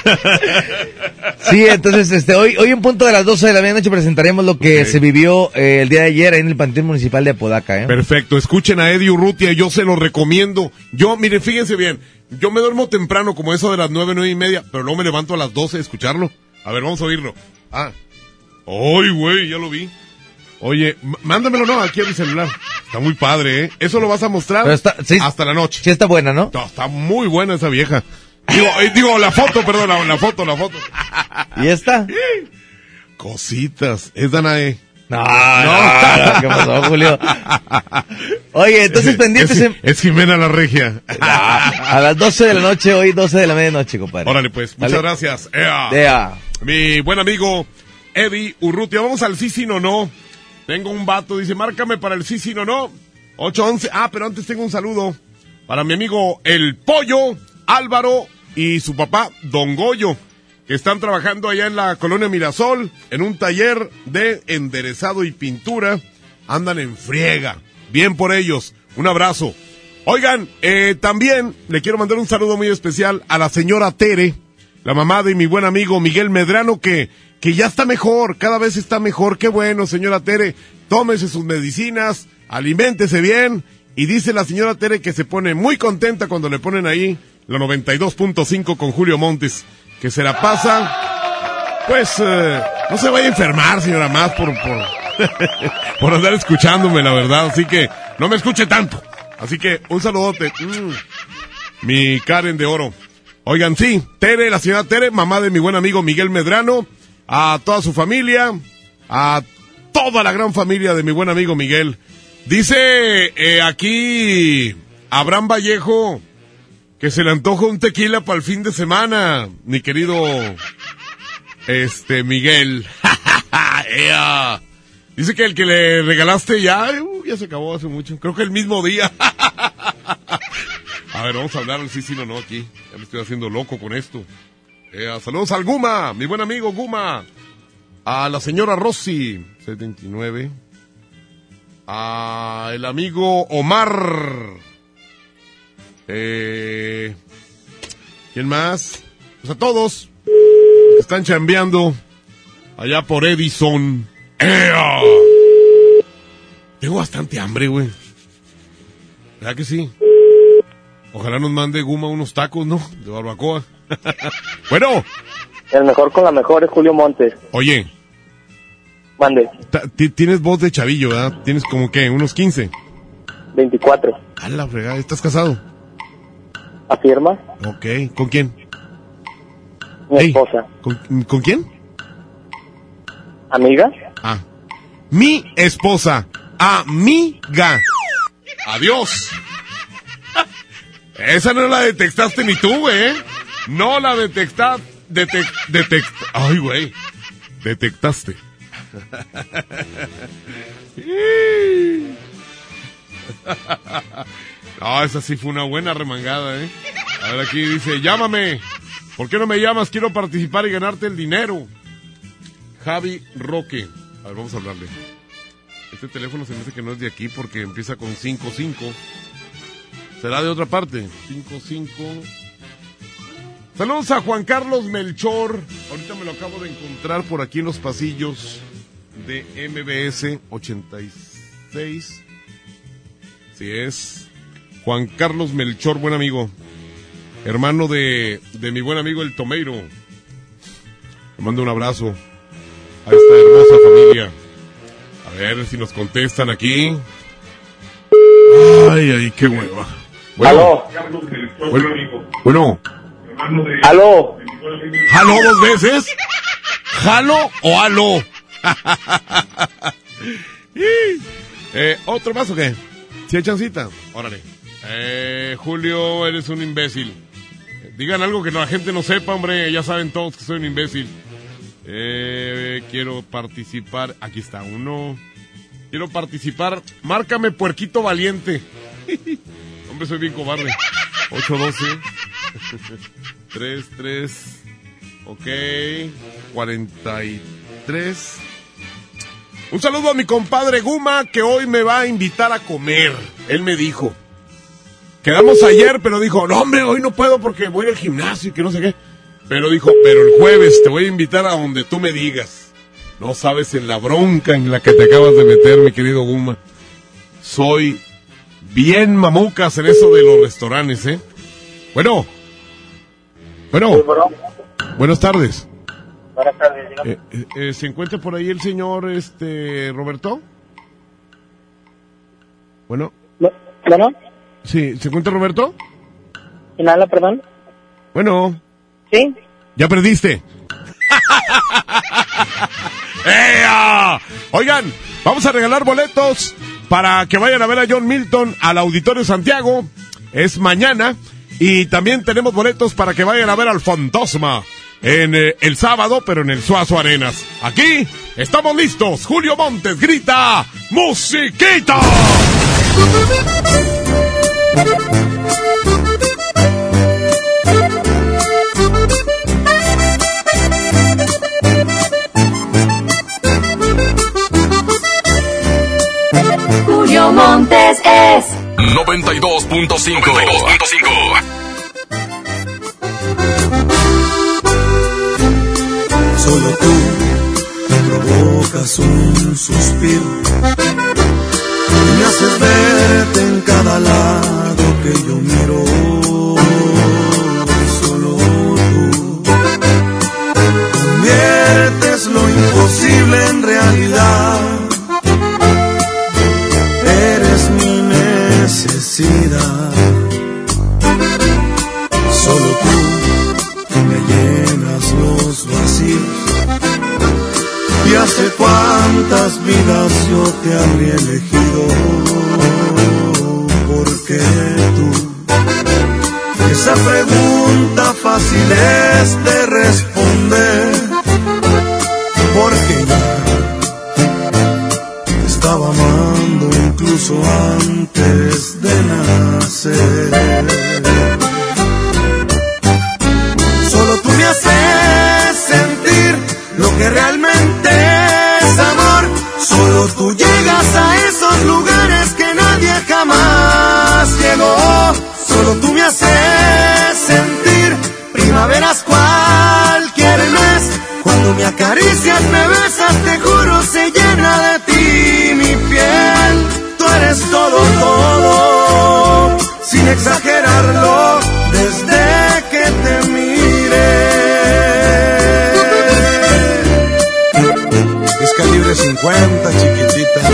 Sí, entonces hoy en punto de las 12 de la medianoche presentaremos lo que se vivió el día de ayer en el Panteón Municipal de Apodaca. Perfecto, escuchen a Eddie Urrutia, yo se lo recomiendo. Yo, miren, fíjense bien, yo me duermo temprano, como eso de las 9:30, pero luego me levanto a las 12 a escucharlo. A ver, vamos a oírlo. ¡Ay, güey! Ya lo vi. Oye, mándamelo, ¿no? Aquí a mi celular. Está muy padre, ¿eh? Eso lo vas a mostrar hasta la noche. Sí está buena, ¿no? No, está muy buena esa vieja. Digo, la foto, perdón, la foto. ¿Y esta? Cositas. Es Danae. No. ¿Qué pasó, Julio? Oye, entonces pendientes. Es Jimena la Regia. A las 12 de la noche, hoy 12 de la medianoche, compadre. Órale, pues, muchas gracias. Mi buen amigo Eddie Urrutia. Vamos al sí, no. Tengo un vato, dice, márcame para el sí, no. 811. Pero antes tengo un saludo para mi amigo El Pollo, Álvaro y su papá, Don Goyo, que están trabajando allá en la colonia Mirasol, en un taller de enderezado y pintura. Andan en friega. Bien por ellos. Un abrazo. Oigan, también le quiero mandar un saludo muy especial a la señora Tere, la mamá de mi buen amigo Miguel Medrano, que ya está mejor, cada vez está mejor. Qué bueno, señora Tere. Tómese sus medicinas, aliméntese bien. Y dice la señora Tere que se pone muy contenta cuando le ponen ahí la 92.5 con Julio Montes, que se la pasa, pues, no se vaya a enfermar, señora, más por por andar escuchándome, la verdad. Así que no me escuche tanto. Así que un saludote. Mi Karen de oro. Oigan, sí, Tere, la señora Tere, mamá de mi buen amigo Miguel Medrano, a toda su familia, a toda la gran familia de mi buen amigo Miguel. Dice aquí Abraham Vallejo que se le antoja un tequila para el fin de semana, mi querido Miguel. Dice que el que le regalaste ya se acabó hace mucho. Creo que el mismo día. A ver, vamos a hablar sí o no aquí. Ya me estoy haciendo loco con esto. Saludos al Guma, mi buen amigo Guma. A la señora Rosy, 79. A el amigo Omar. ¿Quién más? Pues a todos que están chambeando allá por Edison. Tengo bastante hambre, güey. ¿Verdad que sí? Ojalá nos mande Guma unos tacos, ¿no? De barbacoa. Bueno. El mejor con la mejor es Julio Montes. Oye. Mande. Tienes voz de chavillo, ¿verdad? Tienes como que unos 15. 24. A la fregada, ¿estás casado? ¿Afirma? Ok, ¿con quién? Mi esposa. ¿Con quién? ¿Amiga? Ah. Mi esposa. Amiga. Adiós. Esa no la detectaste ni tú, güey. No la detectaste. Ay, güey. Detectaste. No, esa sí fue una buena remangada, ¿eh? A ver, aquí dice, llámame. ¿Por qué no me llamas? Quiero participar y ganarte el dinero. Javi Roque. A ver, vamos a hablarle. Este teléfono se me dice que no es de aquí porque empieza con 55. ¿Será de otra parte? 55. Saludos a Juan Carlos Melchor. Ahorita me lo acabo de encontrar por aquí en los pasillos de MBS 86. Sí es. Juan Carlos Melchor, buen amigo. Hermano de mi buen amigo el Tomeiro. Le mando un abrazo a esta hermosa familia. A ver si nos contestan aquí. Ay, qué hueva. Bueno. Bueno. ¡Aló! ¿Aló 2 veces? ¿Jalo o aló? ¿Otro más o qué? ¿Sí hay chancita? Órale. Julio, eres un imbécil. Digan algo que la gente no sepa, hombre. Ya saben todos que soy un imbécil. Quiero participar. Aquí está uno. Quiero participar. Márcame, puerquito valiente. Hombre, soy bien cobarde. 812 33. Ok. 43. Un saludo a mi compadre Guma, que hoy me va a invitar a comer. Él me dijo. Quedamos ayer, pero dijo, no, hombre, hoy no puedo porque voy al gimnasio y que no sé qué. Pero dijo, pero el jueves te voy a invitar a donde tú me digas. No sabes en la bronca en la que te acabas de meter, mi querido Guma. Soy bien mamucas en eso de los restaurantes, ¿eh? Bueno. Buenas tardes. Buenas tardes. ¿Se encuentra por ahí el señor, Roberto? Bueno. ¿Bueno? Sí, ¿se encuentra Roberto? ¿Quién habla, perdón? Bueno. ¿Sí? Ya perdiste. Oigan, vamos a regalar boletos para que vayan a ver a John Milton al Auditorio Santiago. Es mañana. Y también tenemos boletos para que vayan a ver al Fantasma en el sábado, pero en el Suazo Arenas. Aquí estamos listos. Julio Montes grita ¡musiquita! Julio Montes 92.5. Solo tú me provocas un suspiro y me haces verte en cada lado que yo miro. Solo tú conviertes lo imposible en realidad. Eres mi necesidad. Solo tú me llenas los vacíos. Y hace cuántas vidas yo te habría elegido, porque tú, esa pregunta fácil es de responder, porque ya te estaba amando incluso antes de nacer. Solo tú me haces sentir lo que realmente es amor. Solo tú llegas a esos lugares que nadie jamás llegó. Solo tú me haces sentir primaveras cualquier mes. Cuando me acaricias, me besas, te juro se llena de ti mi piel. Tú eres todo, todo, sin exagerarlo, desde que te miré. Es calibre 50, chiquitita.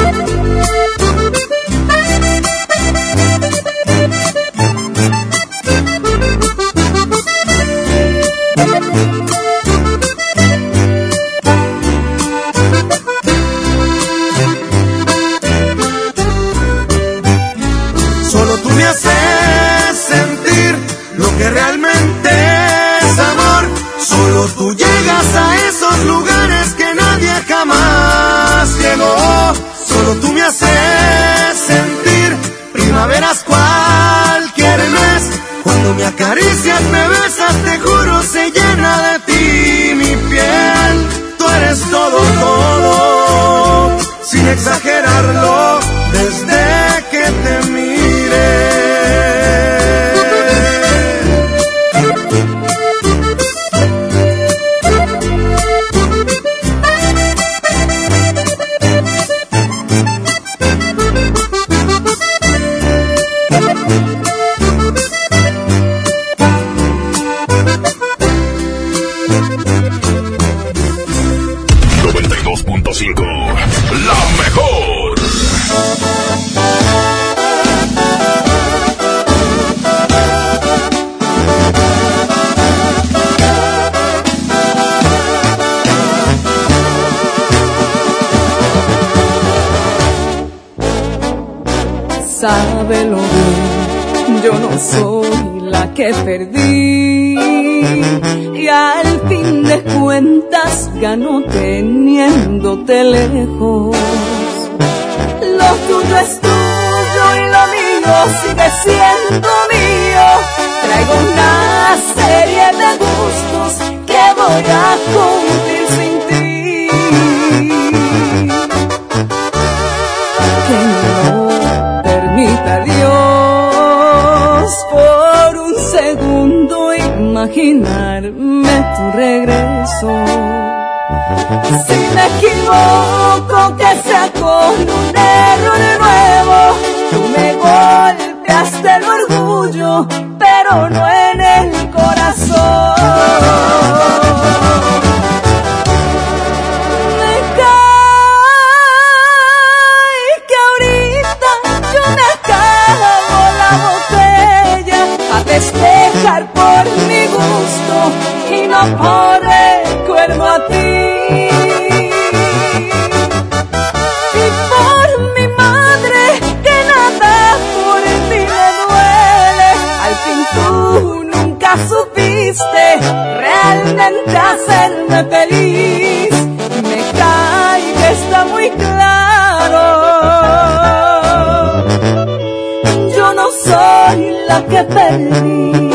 Solo tú me haces sentir lo que realmente es amor. Solo tú llegas a esos lugares que nadie jamás llegó. Solo tú me haces sentir primaveras cualquier mes. Cuando me acaricias, me besas, te juro se llena de ti mi piel. Tú eres todo, todo, sin exagerarlo, desde que te miré. La mejor. Sábelo bien, yo no soy la que perdí y al fin de cuentas ganó teniéndote lejos. Lo tuyo es tuyo y lo mío sigue siendo mío. Traigo una serie de gustos que voy a cumplir sin ti. Que no permita Dios por un segundo imaginarme tu regreso. Si me equivoco, que sea con un error nuevo. Tú me golpeaste el orgullo, pero no en el corazón. Me cae que ahorita yo me acabo la botella a festejar por mi gusto y no por recuerdo a ti. Supiste realmente hacerme feliz. Me cae que está muy claro. Yo no soy la que perdí.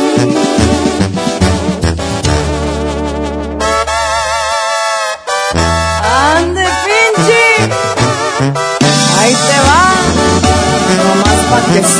Ande Finchi, ahí te va, nomás pa' que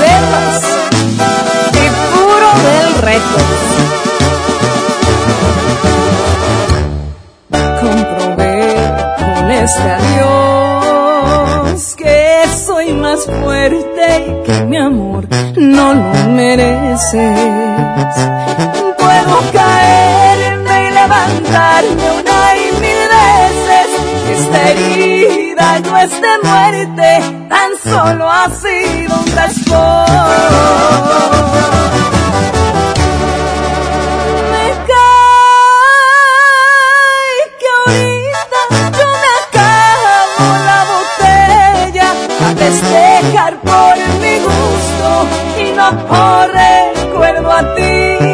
demuestre a Dios que soy más fuerte y que mi amor no lo mereces. Puedo caerme y levantarme una y mil veces. Esta herida no es de muerte, tan solo ha sido un raspón. Me cae que ahorita yo me acabo la botella a festejar por mi gusto y no por recuerdo a ti.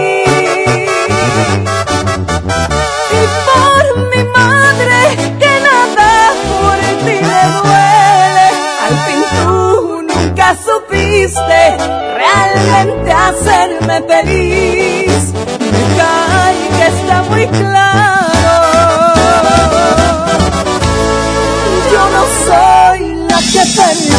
Y por mi madre que nada por ti le duele. Al fin tú nunca supiste realmente hacerme feliz. Me cae que está muy claro, yo no soy la que perdí.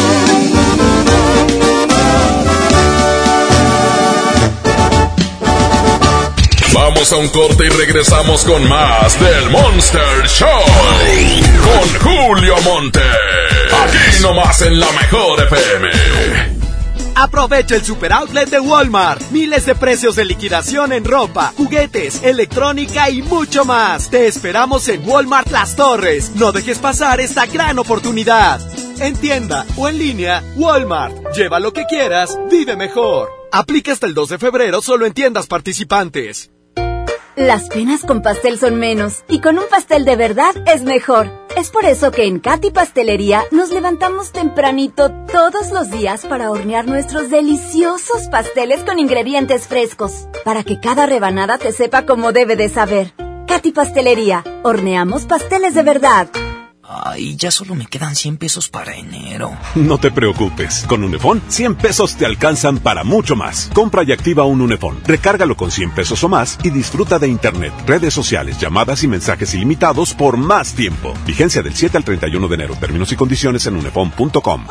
Vamos a un corte y regresamos con más del Monster Show con Julio Monte. Aquí nomás en la Mejor FM. Aprovecha el super outlet de Walmart. Miles de precios de liquidación en ropa, juguetes, electrónica y mucho más. Te esperamos en Walmart Las Torres. No dejes pasar esta gran oportunidad. En tienda o en línea, Walmart. Lleva lo que quieras, vive mejor. Aplica hasta el 2 de febrero solo en tiendas participantes. Las penas con pastel son menos y con un pastel de verdad es mejor. Es por eso que en Katy Pastelería nos levantamos tempranito todos los días para hornear nuestros deliciosos pasteles con ingredientes frescos, para que cada rebanada te sepa como debe de saber. Katy Pastelería, horneamos pasteles de verdad. Ay, ya solo me quedan 100 pesos para enero. No te preocupes, con Unefón, 100 pesos te alcanzan para mucho más. Compra y activa un Unefón, recárgalo con 100 pesos o más y disfruta de internet, redes sociales, llamadas y mensajes ilimitados por más tiempo. Vigencia del 7 al 31 de enero. Términos y condiciones en unefón.com.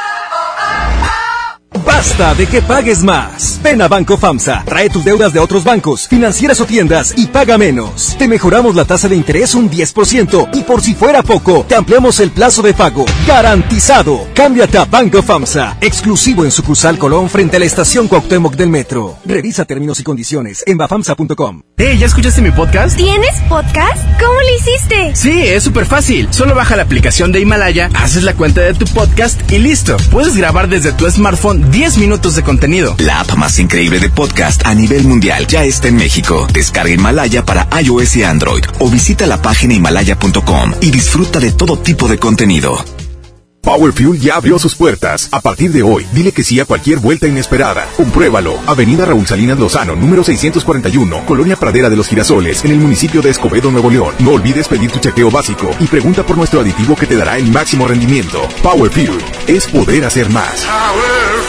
Basta de que pagues más. Ven a Banco FAMSA, trae tus deudas de otros bancos, financieras o tiendas y paga menos. Te mejoramos la tasa de interés un 10% y por si fuera poco, te ampliamos el plazo de pago. ¡Garantizado! Cámbiate a Banco FAMSA, exclusivo en sucursal Colón frente a la estación Cuauhtémoc del Metro. Revisa términos y condiciones en bafamsa.com. ¿Ya escuchaste mi podcast? ¿Tienes podcast? ¿Cómo lo hiciste? Sí, es súper fácil. Solo baja la aplicación de Himalaya, haces la cuenta de tu podcast y listo. Puedes grabar desde tu smartphone 10 minutos de contenido. La app más increíble de podcast a nivel mundial ya está en México. Descarga Himalaya para iOS y Android o visita la página himalaya.com y disfruta de todo tipo de contenido. Power Fuel ya abrió sus puertas. A partir de hoy, dile que sí a cualquier vuelta inesperada. Compruébalo. Avenida Raúl Salinas Lozano, número 641, Colonia Pradera de los Girasoles, en el municipio de Escobedo, Nuevo León. No olvides pedir tu chequeo básico y pregunta por nuestro aditivo que te dará el máximo rendimiento. Power Fuel es poder hacer más. Power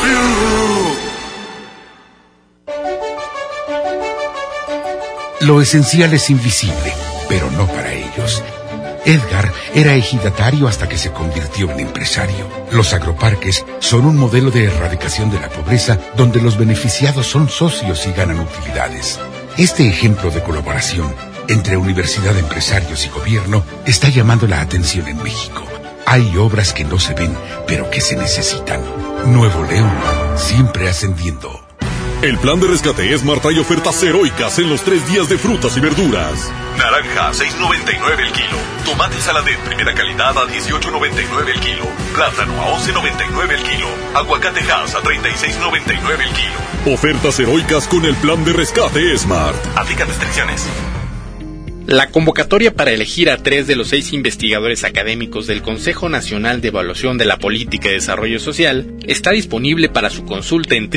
Fuel. Lo esencial es invisible, pero no para ellos. Edgar era ejidatario hasta que se convirtió en empresario. Los agroparques son un modelo de erradicación de la pobreza donde los beneficiados son socios y ganan utilidades. Este ejemplo de colaboración entre universidad, empresarios y gobierno está llamando la atención en México. Hay obras que no se ven, pero que se necesitan. Nuevo León, siempre ascendiendo. El plan de rescate Smart trae ofertas heroicas en los 3 días de frutas y verduras. Naranja, 6.99 el kilo. Tomate Saladet, primera calidad, a 18.99 el kilo. Plátano, a 11.99 el kilo. Aguacate Hass, a 36.99 el kilo. Ofertas heroicas con el plan de rescate Smart. Aplican restricciones. La convocatoria para elegir a 3 de los 6 investigadores académicos del Consejo Nacional de Evaluación de la Política de Desarrollo Social está disponible para su consulta en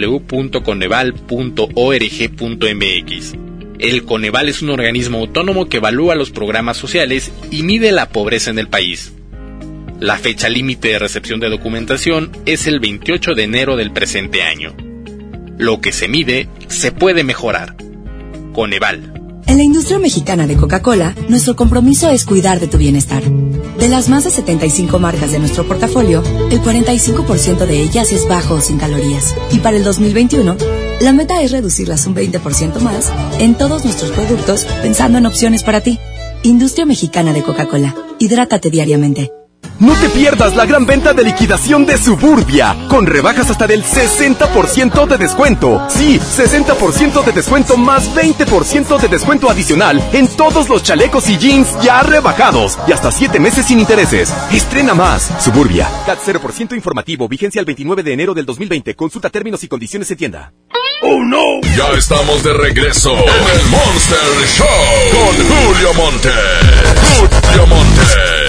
www.coneval.org.mx. El Coneval es un organismo autónomo que evalúa los programas sociales y mide la pobreza en el país. La fecha límite de recepción de documentación es el 28 de enero del presente año. Lo que se mide se puede mejorar. Coneval. En la industria mexicana de Coca-Cola, nuestro compromiso es cuidar de tu bienestar. De las más de 75 marcas de nuestro portafolio, el 45% de ellas es bajo o sin calorías. Y para el 2021, la meta es reducirlas un 20% más en todos nuestros productos, pensando en opciones para ti. Industria Mexicana de Coca-Cola. Hidrátate diariamente. No te pierdas la gran venta de liquidación de Suburbia, con rebajas hasta del 60% de descuento. Sí, 60% de descuento más 20% de descuento adicional en todos los chalecos y jeans ya rebajados y hasta 7 meses sin intereses. Estrena más. Suburbia. CAT 0% informativo, vigencia el 29 de enero del 2020. Consulta términos y condiciones en tienda. ¡Oh, no! Ya estamos de regreso en el Monster Show con Julio Monte. Julio Monte.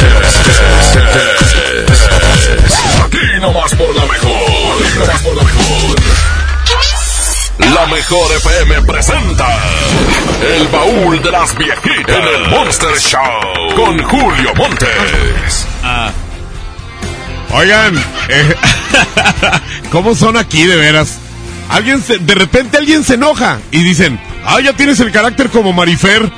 Aquí nomás por la mejor. Aquí nomás por la mejor. La Mejor FM presenta El Baúl de las Viejitas en el Monster Show con Julio Montes. Oigan, ¿cómo son aquí de veras? De repente alguien se enoja y dicen, ya tienes el carácter como Marifer.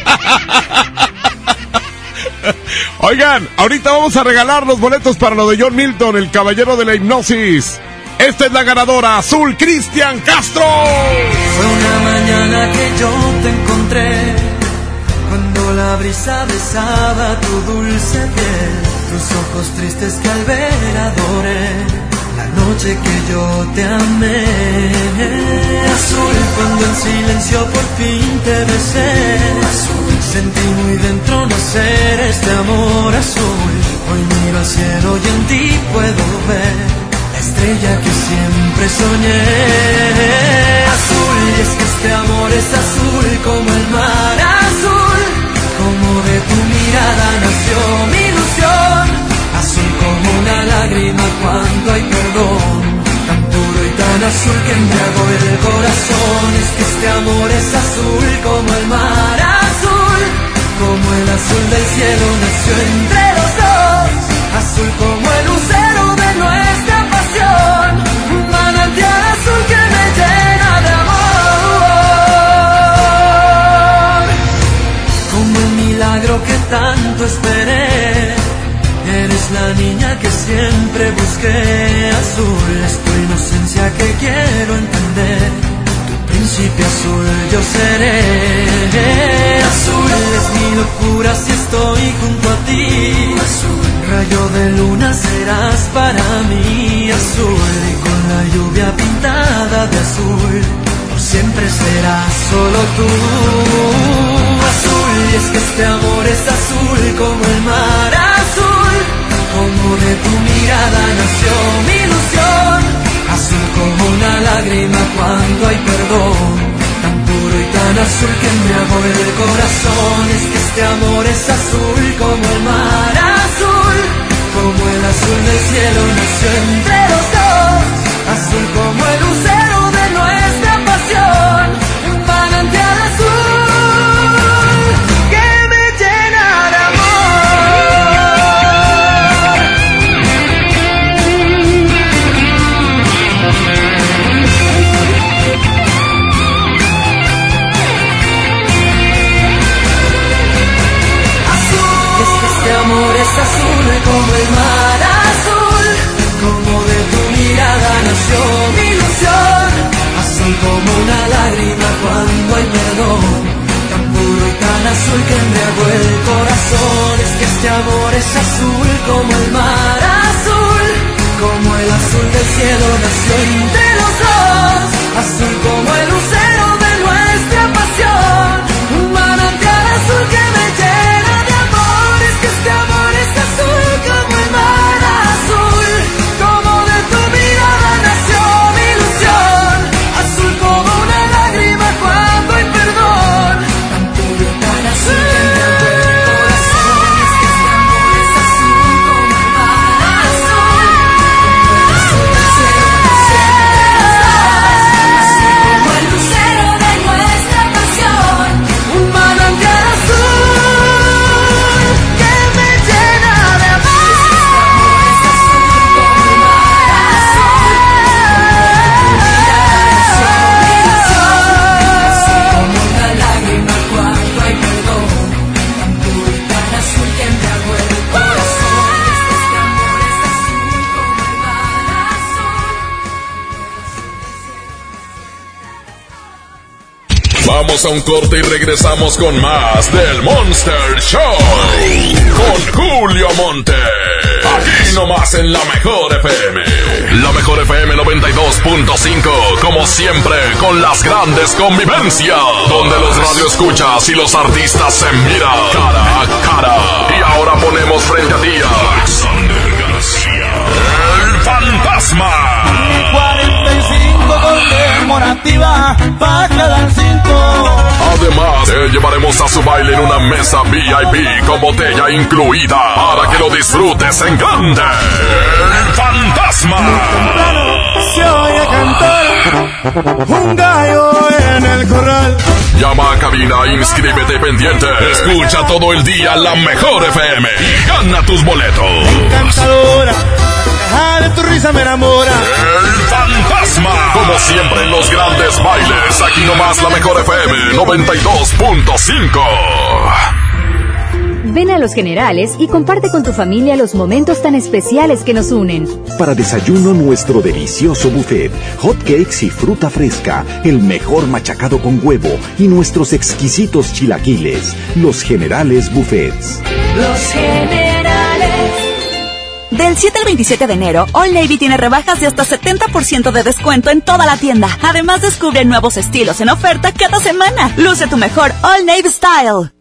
Oigan, ahorita vamos a regalar los boletos para lo de John Milton, el caballero de la hipnosis. Esta es la ganadora, Azul Cristian Castro. Fue una mañana que yo te encontré, cuando la brisa besaba tu dulce piel, tus ojos tristes que al ver adoré, la noche que yo te amé. Azul, cuando en silencio por fin te besé, azul, sentí muy dentro nacer este amor azul. Hoy miro al cielo y en ti puedo ver la estrella que siempre soñé. Azul, y es que este amor es azul como el mar azul, como de tu mirada nació mi ilusión. Azul como una lágrima cuando hay perdón, tan puro y tan azul que embriagó el corazón. Es que este amor es azul como el mar azul, como el azul del cielo nació entre los dos. Azul como el lucero de nuestra pasión, un manantial azul que me llena de amor. Como el milagro que tanto esperé, eres la niña que siempre busqué. Azul, es tu inocencia que quiero entender, tu príncipe azul yo seré. Azul, es mi locura si estoy junto a ti. Azul, rayo de luna serás para mí. Azul, y con la lluvia pintada de azul, por siempre serás solo tú. Azul, y es que este amor es azul como el mar azul, como de tu mirada nació mi ilusión. Azul como una lágrima cuando hay perdón, tan puro y tan azul que embriagó el corazón. Es que este amor es azul como el mar azul, como el azul del cielo nació entre los dos. Azul como el lucero de nuestra pasión, un manantial azul que me llena de azul como el mar azul, como de tu mirada nació mi ilusión. Azul como una lágrima cuando hay perdón, tan puro y tan azul que embriagó el corazón. Es que este amor es azul como el mar azul, como el azul del cielo nació entre los dos. Azul como el lucero de nuestra pasión, un manantial azul que me llena de amor. Es que este amor es azul como el mar azul, como de tu mirada nació mi ilusión. Azul como una lágrima cuando hay perdón, tan puro y tan azul que embriagó el corazón. Es que este amor es azul como el mar azul, como el azul del cielo nació entre los dos. Azul Vamos a un corte y regresamos con más del Monster Show. Con Julio Monte. Aquí nomás en la Mejor FM. La Mejor FM 92.5. Como siempre, con las grandes convivencias. Donde los radioescuchas y los artistas se miran cara a cara. Y ahora ponemos frente a ti a Alexander García, el fantasma. 45 conmemorativa para cada 5. Además, te llevaremos a su baile en una mesa VIP con botella incluida para que lo disfrutes en grande. El fantasma. Se oye cantar un gallo en el corral. Llama a cabina, inscríbete pendiente. Escucha todo el día la Mejor FM y gana tus boletos. Encantadora, de tu risa me enamora. El fantasma. Como siempre en los grandes bailes, aquí nomás la Mejor FM 92.5. Ven a Los Generales y comparte con tu familia los momentos tan especiales que nos unen. Para desayuno, nuestro delicioso buffet, hot cakes y fruta fresca, el mejor machacado con huevo y nuestros exquisitos chilaquiles. Los Generales Buffets. Los Generales. Del 7 al 27 de enero, Old Navy tiene rebajas de hasta 70% de descuento en toda la tienda. Además, descubre nuevos estilos en oferta cada semana. Luce tu mejor Old Navy Style.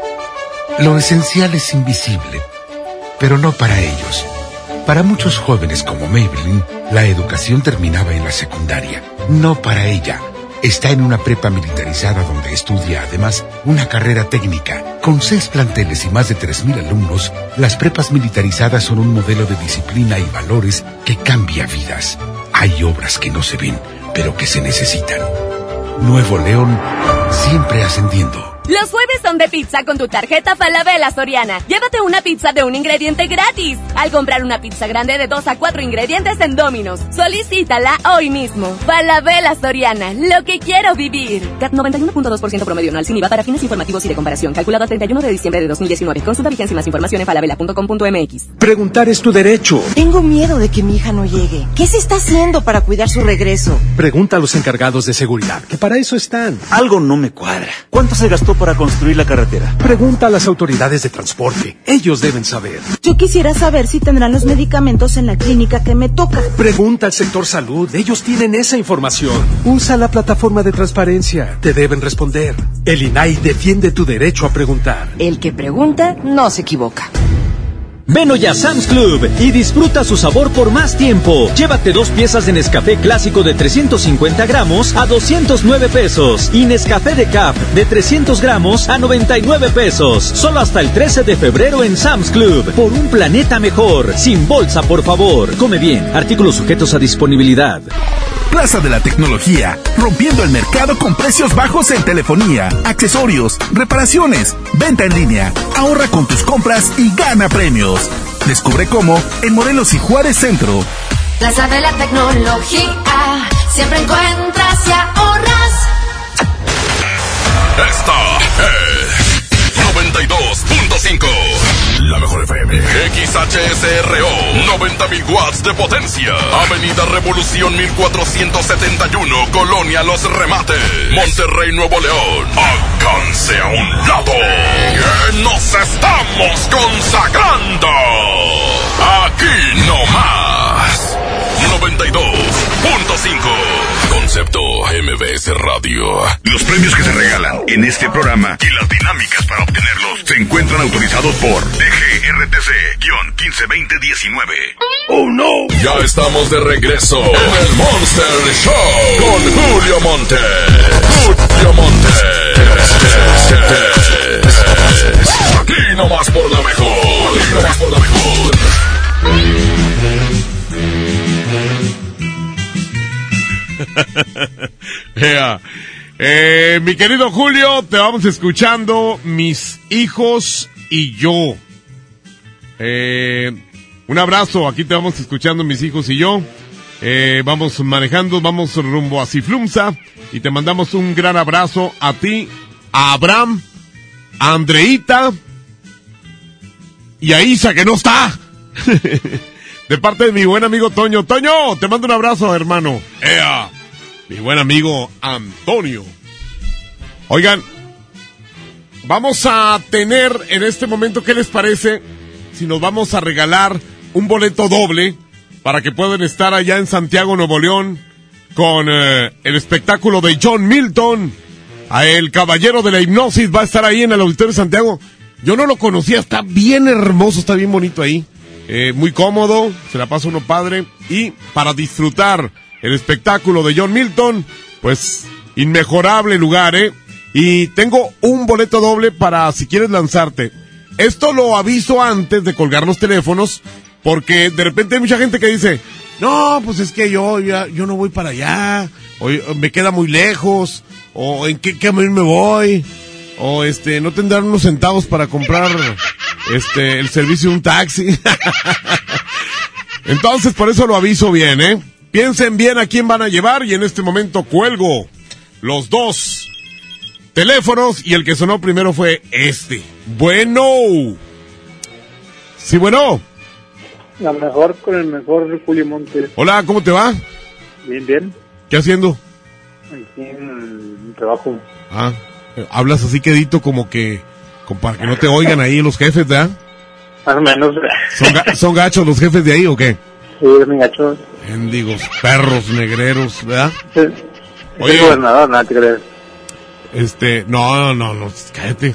Lo esencial es invisible, pero no para ellos. Para muchos jóvenes como Maybelline, la educación terminaba en la secundaria. No para ella. Está en una prepa militarizada donde estudia además una carrera técnica. Con 6 planteles y más de 3,000 alumnos, las prepas militarizadas son un modelo de disciplina y valores que cambia vidas. Hay obras que no se ven, pero que se necesitan. Nuevo León, siempre ascendiendo. Los jueves son de pizza con tu tarjeta Falabella Soriana. Llévate una pizza de un ingrediente gratis al comprar una pizza grande de 2 a 4 ingredientes en Domino's. Solicítala hoy mismo. Falabella Soriana, lo que quiero vivir. CAT 91.2% promedio anual sin IVA para fines informativos y de comparación. Calculado a 31 de diciembre de 2019. Consulta vigencia y más información en falabella.com.mx. Preguntar es tu derecho. Tengo miedo de que mi hija no llegue. ¿Qué se está haciendo para cuidar su regreso? Pregunta a los encargados de seguridad, que para eso están. Algo no me cuadra. ¿Cuánto se gastó para construir la carretera? Pregunta a las autoridades de transporte. Ellos deben saber. Yo quisiera saber si tendrán los medicamentos en la clínica que me toca. Pregunta al sector salud. Ellos tienen esa información. Usa la plataforma de transparencia. Te deben responder. El INAI defiende tu derecho a preguntar. El que pregunta no se equivoca. Ven hoy a Sam's Club y disfruta su sabor por más tiempo. Llévate 2 piezas de Nescafé clásico de 350 gramos a 209 pesos y Nescafé Decaf de 300 gramos a 99 pesos. Solo hasta el 13 de febrero en Sam's Club. Por un planeta mejor. Sin bolsa, por favor. Come bien. Artículos sujetos a disponibilidad. Plaza de la Tecnología, rompiendo el mercado con precios bajos en telefonía, accesorios, reparaciones, venta en línea. Ahorra con tus compras y gana premios. Descubre cómo en Morelos y Juárez Centro. Plaza de la Tecnología, siempre encuentras y ahorras. Esta es 92.5. La Mejor FM. XHSRO. 90,000 watts de potencia. Avenida Revolución 1471. Colonia Los Remates. Monterrey, Nuevo León. Alcance a un lado. Que nos estamos consagrando. Aquí no más. 92.5. Concepto MBS Radio. Los premios que se regalan en este programa y las dinámicas para obtenerlos se encuentran autorizados por DGRTC-152019. ¡Oh, no! Ya estamos de regreso en el Monster Show con Julio Monte. Julio Monte. Aquí nomás por la Mejor. Aquí nomás por la Mejor. Yeah. Mi querido Julio, te vamos escuchando Mis Hijos y Yo. Un abrazo, aquí te vamos escuchando Mis Hijos y Yo. Vamos manejando, vamos rumbo a Ciflumsa y te mandamos un gran abrazo a ti, a Abraham, a Andreita y a Isa, que no está. De parte de mi buen amigo Toño. Toño, te mando un abrazo, hermano. Mi buen amigo Antonio. Oigan, vamos a tener en este momento, ¿qué les parece si nos vamos a regalar un boleto doble para que puedan estar allá en Santiago, Nuevo León, con el espectáculo de John Milton? El caballero de la hipnosis va a estar ahí en el Auditorio de Santiago. Yo no lo conocía, está bien hermoso, está bien bonito ahí. Muy cómodo, se la pasa uno padre. Y para disfrutar el espectáculo de John Milton, pues inmejorable lugar, Y tengo un boleto doble para si quieres lanzarte. Esto lo aviso antes de colgar los teléfonos, porque de repente hay mucha gente que dice, no, pues es que yo no voy para allá, o me queda muy lejos, o en qué camino me voy, o no tendrán unos centavos para comprar el servicio de un taxi. Entonces, por eso lo aviso bien, Piensen bien a quién van a llevar, y en este momento cuelgo los dos teléfonos, y el que sonó primero fue este. Bueno. Sí, bueno. La mejor con el mejor Julio Montes. Hola, ¿cómo te va? Bien, bien. ¿Qué haciendo? Aquí en el trabajo. Hablas así quedito como para que no te oigan ahí los jefes, ¿verdad? Más o menos. ¿Son gachos los jefes de ahí o qué? Sí, son gachos. Mendigos, perros, negreros, ¿verdad? Sí. Oye, el gobernador, nada te crees. No, cállate.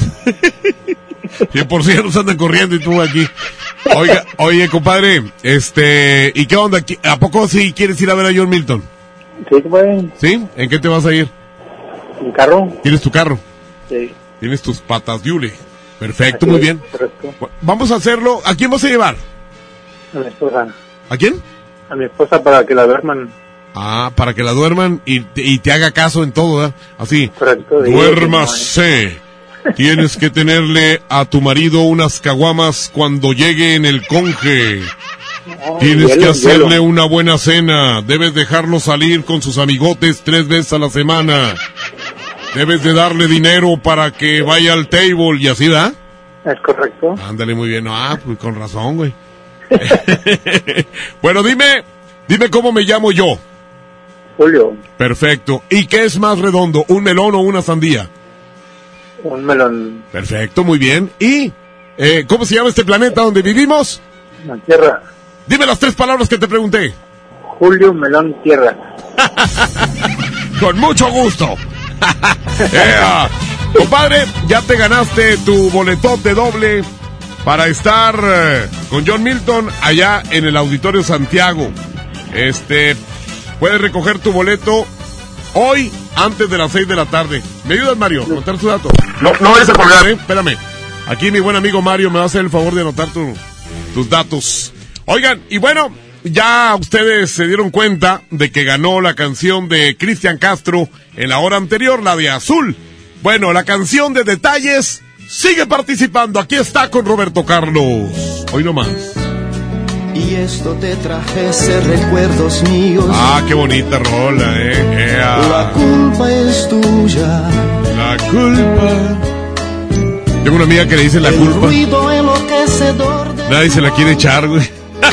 100% nos andan corriendo y tú aquí. Oye, compadre, ¿y qué onda? ¿A poco sí quieres ir a ver a John Milton? Sí, compadre. ¿Sí? ¿En qué te vas a ir? ¿En carro? ¿Tienes tu carro? Sí. ¿Tienes tus patas de hule? Perfecto, muy bien. Correcto. Vamos a hacerlo. ¿A quién vas a llevar? A mi esposa. ¿A quién? A mi esposa para que la duerman. Para que la duerman y te haga caso en todo, ¿verdad? Así. Correcto. Duérmase. Tienes que tenerle a tu marido unas caguamas cuando llegue en el conge. Tienes que hacerle una buena cena. Debes dejarlo salir con sus amigotes 3 veces a la semana. Debes de darle dinero para que vaya al table y así, ¿verdad? Es correcto. Ándale, muy bien. Pues con razón, güey. Bueno, dime cómo me llamo yo. Julio. Perfecto. ¿Y qué es más redondo, un melón o una sandía? Un melón. Perfecto, muy bien. ¿Y cómo se llama este planeta donde vivimos? La Tierra. Dime las 3 palabras que te pregunté. Julio, melón, tierra. Con mucho gusto. Compadre, ya te ganaste tu boletote doble para estar con John Milton allá en el Auditorio Santiago. Puedes recoger tu boleto hoy antes de las 6 de la tarde. ¿Me ayudas, Mario? Anotar tu dato. No vayas a colgar. Espérame. Aquí mi buen amigo Mario me va a hacer el favor de anotar tus datos. Oigan, y bueno, ya ustedes se dieron cuenta de que ganó la canción de Cristian Castro en la hora anterior, la de Azul. Bueno, la canción de Detalles sigue participando. Aquí está con Roberto Carlos. Hoy nomás. Y esto te trajese recuerdos míos. Qué bonita rola, La culpa es tuya. La culpa. Tengo una amiga que le dice la culpa. Ruido enloquecedor de nadie se la quiere echar, güey.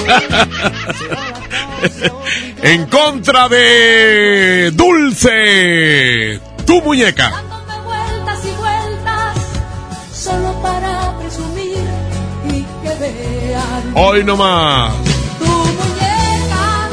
En contra de Dulce, tu muñeca. Dándome vueltas y vueltas, solo para presumir y que vean. Hoy nomás. Tu muñeca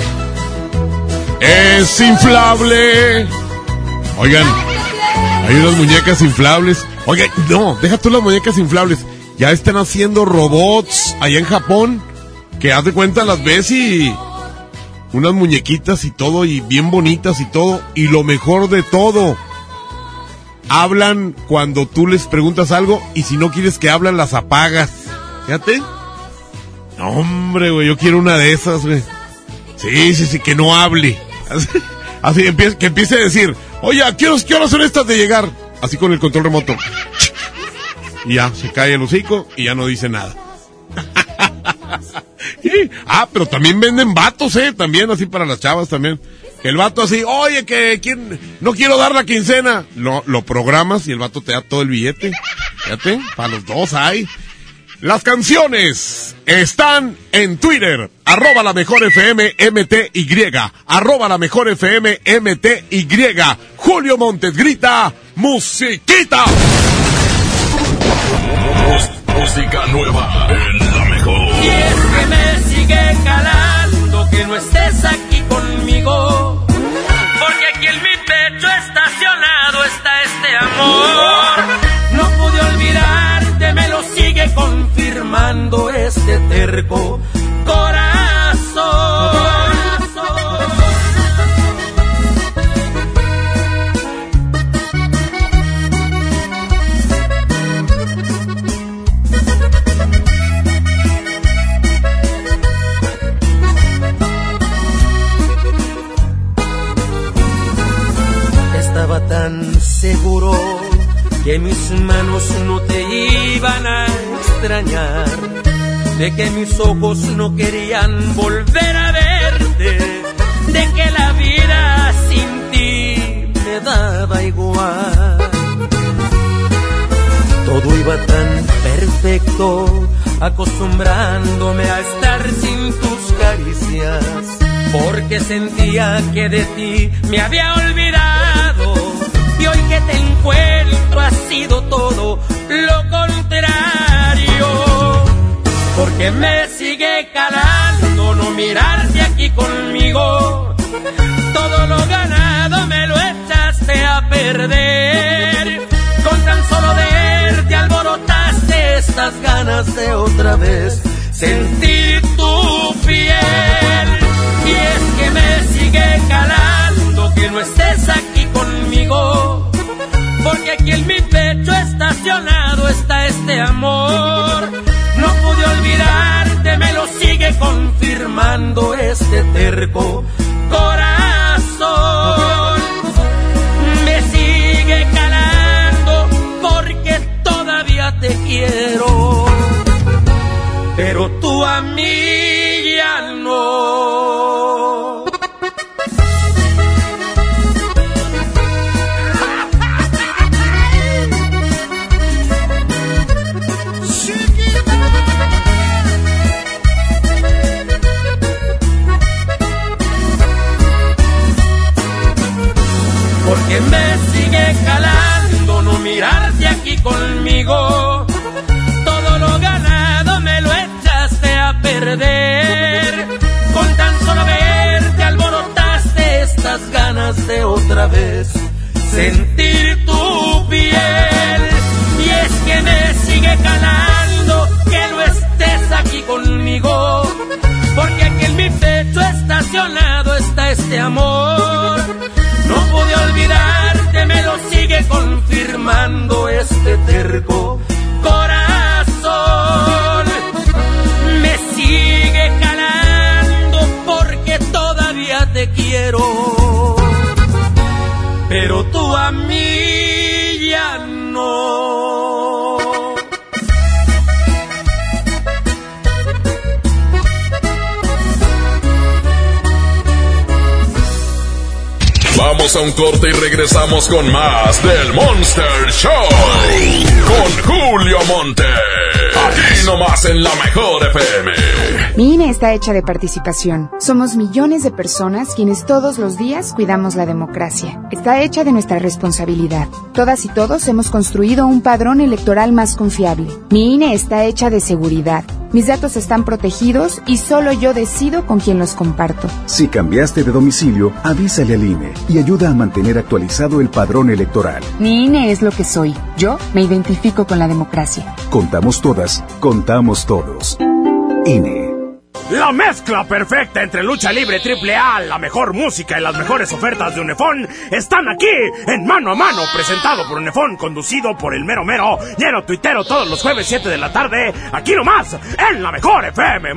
es inflable. Oigan, hay unas muñecas inflables. Oigan, no, deja tú las muñecas inflables. Ya están haciendo robots allá en Japón, que haz de cuenta las ves y unas muñequitas y todo, y bien bonitas y todo, y lo mejor de todo, hablan cuando tú les preguntas algo, y si no quieres que hablan, las apagas. Fíjate. No, hombre, güey, yo quiero una de esas, güey. Sí, que no hable. Así que empiece a decir, oye, ¿a qué horas son estas de llegar? Así con el control remoto. Y ya, se cae el hocico y ya no dice nada. Pero también venden vatos, también así para las chavas también. Que el vato así, oye, no quiero dar la quincena. Lo programas y el vato te da todo el billete. Fíjate, para los dos hay. Las canciones están en Twitter, @la mejor FM MTY, @la mejor FM MTY. Julio Montes grita, musiquita. Música nueva en La Mejor. Y es que me sigue calando que no estés aquí conmigo, porque aquí en mi pecho estacionado está este amor. No pude olvidarte, me lo sigue confirmando este terco corazón. Estaba tan seguro que mis manos no te iban a extrañar, de que mis ojos no querían volver a verte, de que la vida sin ti me daba igual. Todo iba tan perfecto, acostumbrándome a estar sin tus caricias, porque sentía que de ti me había olvidado, y hoy que te encuentro ha sido todo lo contrario, porque me sigue calando no mirarte aquí conmigo. Todo lo ganado me lo echaste a perder, con tan solo verte alborotaste estas ganas de otra vez sentir tu piel. Y es que me sigue calando que no estés aquí conmigo, porque aquí en mi pecho estacionado está este amor. No pude olvidarte, me lo sigue confirmando este terco corazón. Me sigue calando porque todavía te quiero, pero tú a mí ya no. Porque me sigue calando no mirarte aquí conmigo. Todo lo ganado me lo echaste a perder, con tan solo verte alborotaste estas ganas de otra vez sentir tu piel. Y es que me sigue calando que no estés aquí conmigo, porque aquí en mi pecho estacionado está este amor. No pude olvidarte, me lo sigue confirmando este terco corazón. Me sigue calando porque todavía te quiero, pero tú a mí ya no. Vamos a un corte y regresamos con más del Monster Show con Julio Montes. Aquí nomás en La Mejor FM. Mi INE está hecha de participación. Somos millones de personas quienes todos los días cuidamos la democracia. Está hecha de nuestra responsabilidad. Todas y todos hemos construido un padrón electoral más confiable. Mi INE está hecha de seguridad. Mis datos están protegidos y solo yo decido con quién los comparto. Si cambiaste de domicilio, avísale al INE y ayuda a mantener actualizado el padrón electoral. Mi INE es lo que soy. Yo me identifico con la democracia. Contamos todas, contamos todos. INE. La mezcla perfecta entre lucha libre AAA, la mejor música y las mejores ofertas de Unefón están aquí en Mano a Mano, presentado por Unefón, conducido por el mero mero, lleno tuitero todos los jueves 7 de la tarde, aquí nomás, en La Mejor FM.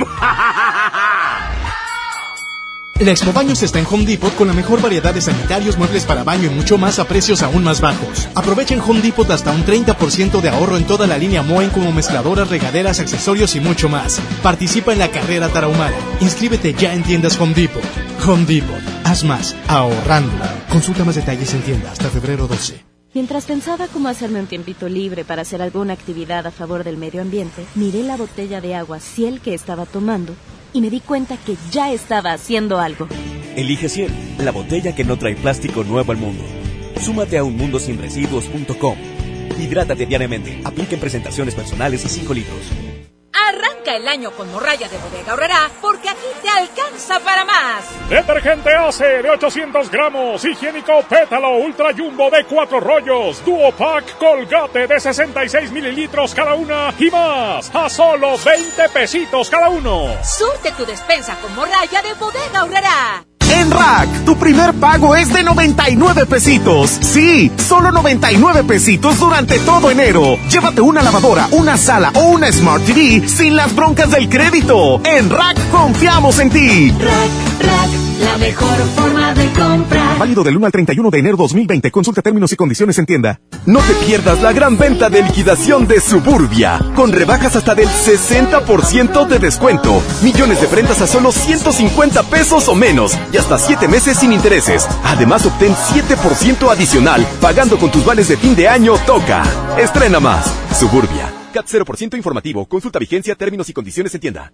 La Expo Baños está en Home Depot con la mejor variedad de sanitarios, muebles para baño y mucho más a precios aún más bajos. Aprovecha en Home Depot hasta un 30% de ahorro en toda la línea Moen, como mezcladoras, regaderas, accesorios y mucho más. Participa en la carrera tarahumara. Inscríbete ya en tiendas Home Depot. Home Depot. Haz más ahorrando. Consulta más detalles en tienda hasta febrero 12. Mientras pensaba cómo hacerme un tiempito libre para hacer alguna actividad a favor del medio ambiente, miré la botella de agua Ciel que estaba tomando y me di cuenta que ya estaba haciendo algo. Elige Ciel, la botella que no trae plástico nuevo al mundo. Súmate a unmundosinresiduos.com. Hidrátate diariamente. Apliquen presentaciones personales y 5 litros. Arranca el año con morralla de Bodega Aurrerá, porque aquí te alcanza para más. Detergente Ace de 800 gramos, higiénico Pétalo Ultra Jumbo de 4 rollos, Duo Pack Colgate de 66 mililitros cada una y más, a solo 20 pesitos cada uno. Surte tu despensa con morralla de Bodega Aurrerá. En Rack, tu primer pago es de 99 pesitos. Sí, solo 99 pesitos durante todo enero. Llévate una lavadora, una sala o una Smart TV sin las broncas del crédito. En Rack confiamos en ti. Rack, la mejor forma de comprar. Válido del 1 al 31 de enero 2020. Consulta términos y condiciones en tienda. No te pierdas la gran venta de liquidación de Suburbia, con rebajas hasta del 60% de descuento. Millones de prendas a solo 150 pesos o menos y hasta 7 meses sin intereses. Además, obtén 7% adicional pagando con tus vales de fin de año Toca. Estrena más. Suburbia. CAT 0% informativo. Consulta vigencia, términos y condiciones en tienda.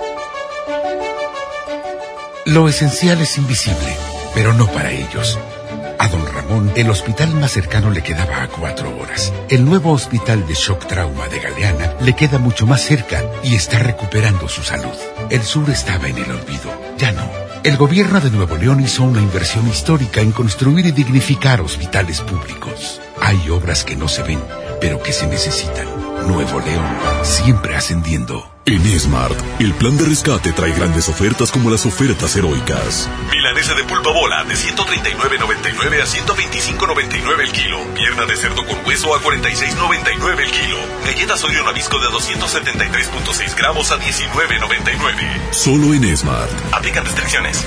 Lo esencial es invisible, pero no para ellos. A don Ramón, el hospital más cercano le quedaba a 4 horas. El nuevo hospital de shock trauma de Galeana le queda mucho más cerca y está recuperando su salud. El sur estaba en el olvido, ya no. El gobierno de Nuevo León hizo una inversión histórica en construir y dignificar hospitales públicos. Hay obras que no se ven, pero que se necesitan. Nuevo León, siempre ascendiendo. En Smart, el plan de rescate trae grandes ofertas como las ofertas heroicas. Milanesa de pulpa bola de 139.99 a 125.99 el kilo. Pierna de cerdo con hueso a 46.99 el kilo. Galletas Oreo Nabisco de 273.6 gramos a 19.99. Solo en Smart. Aplican restricciones.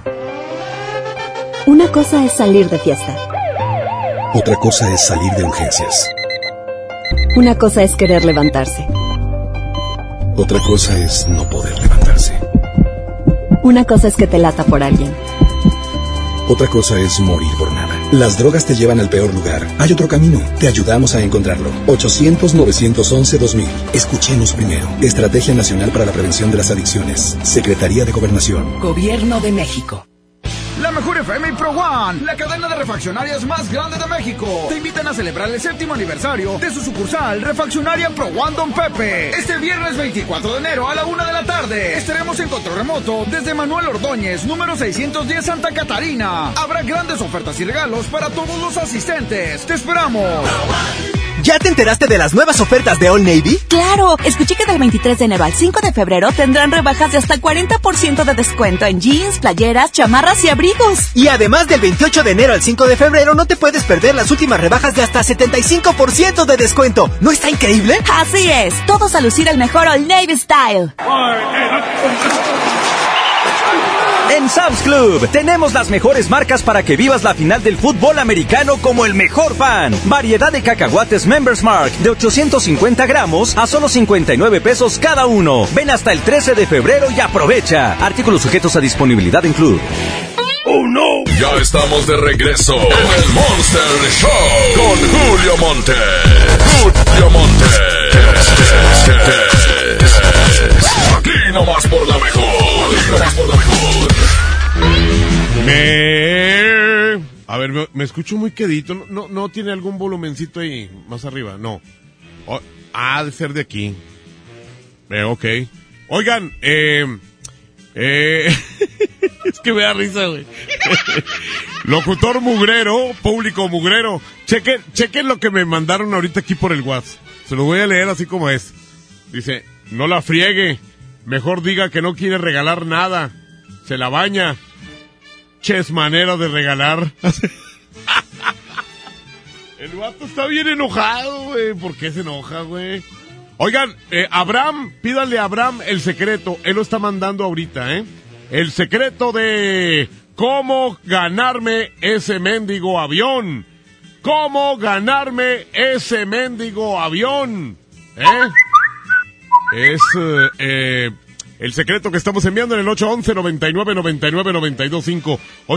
Una cosa es salir de fiesta. Otra cosa es salir de urgencias. Una cosa es querer levantarse. Otra cosa es no poder levantarse. Una cosa es que te lata por alguien. Otra cosa es morir por nada. Las drogas te llevan al peor lugar. Hay otro camino. Te ayudamos a encontrarlo. 800-911-2000. Escuchemos primero. Estrategia Nacional para la Prevención de las Adicciones. Secretaría de Gobernación. Gobierno de México. La Mejor FM y Pro One, la cadena de refaccionarias más grande de México, te invitan a celebrar el 7º aniversario de su sucursal Refaccionaria Pro One Don Pepe. Este viernes 24 de enero a la 1 de la tarde estaremos en control remoto desde Manuel Ordóñez, número 610 Santa Catarina. Habrá grandes ofertas y regalos para todos los asistentes. ¡Te esperamos! ¿Ya te enteraste de las nuevas ofertas de Old Navy? ¡Claro! Escuché que del 23 de enero al 5 de febrero tendrán rebajas de hasta 40% de descuento en jeans, playeras, chamarras y abrigos. Y además del 28 de enero al 5 de febrero no te puedes perder las últimas rebajas de hasta 75% de descuento. ¿No está increíble? Así es. Todos a lucir el mejor Old Navy Style. En Sam's Club tenemos las mejores marcas para que vivas la final del fútbol americano como el mejor fan. Variedad de cacahuates Members Mark de 850 gramos a solo 59 pesos cada uno. Ven hasta el 13 de febrero y aprovecha. Artículos sujetos a disponibilidad en Club. ¡Oh, no! Ya estamos de regreso en el Monster Show con Julio Monte. Julio Monte. Aquí nomás por la mejor. Aquí nomás por la mejor. A ver, me escucho muy quedito. No tiene algún volumencito ahí más arriba. No. Ha de ser de aquí. Ok. Oigan, es que me da risa, güey. Locutor mugrero, público mugrero. Chequen lo que me mandaron ahorita aquí por el WhatsApp. Se lo voy a leer así como es. Dice, no la friegue. Mejor diga que no quiere regalar nada. Se la baña. Ches manera de regalar. El vato está bien enojado, güey. ¿Por qué se enoja, güey? Oigan, Abraham, pídanle a Abraham el secreto. Él lo está mandando ahorita, ¿eh? El secreto de cómo ganarme ese mendigo avión. ¿Cómo ganarme ese mendigo avión? el secreto que estamos enviando en el 811-9999-925.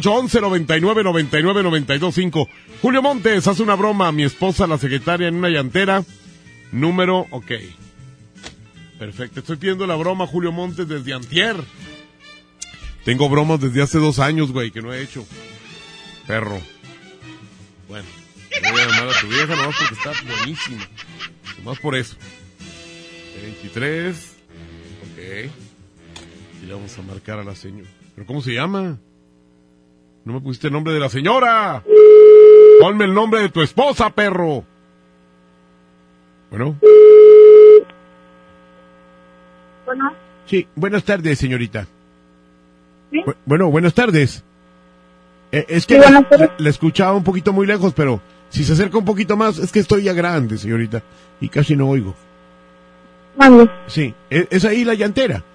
811-9999-925. Julio Montes, haz una broma a mi esposa, la secretaria, en una llantera. Número, ok. Perfecto, estoy pidiendo la broma, Julio Montes, desde antier. Tengo bromas desde hace 2 años, güey, que no he hecho. Perro. Bueno, voy a llamar a tu vieja nomás porque está buenísima. Nomás por eso. 23. Ok. Y le vamos a marcar a la señora. ¿Pero cómo se llama? No me pusiste el nombre de la señora. Ponme el nombre de tu esposa, perro. Bueno. Bueno. Sí, buenas tardes, señorita. ¿Sí? Bueno, buenas tardes. Es que sí, la escuchaba un poquito muy lejos, pero si se acerca un poquito más, es que estoy ya grande, señorita, y casi no oigo. ¿Dónde? Sí, ¿es ahí la llantera?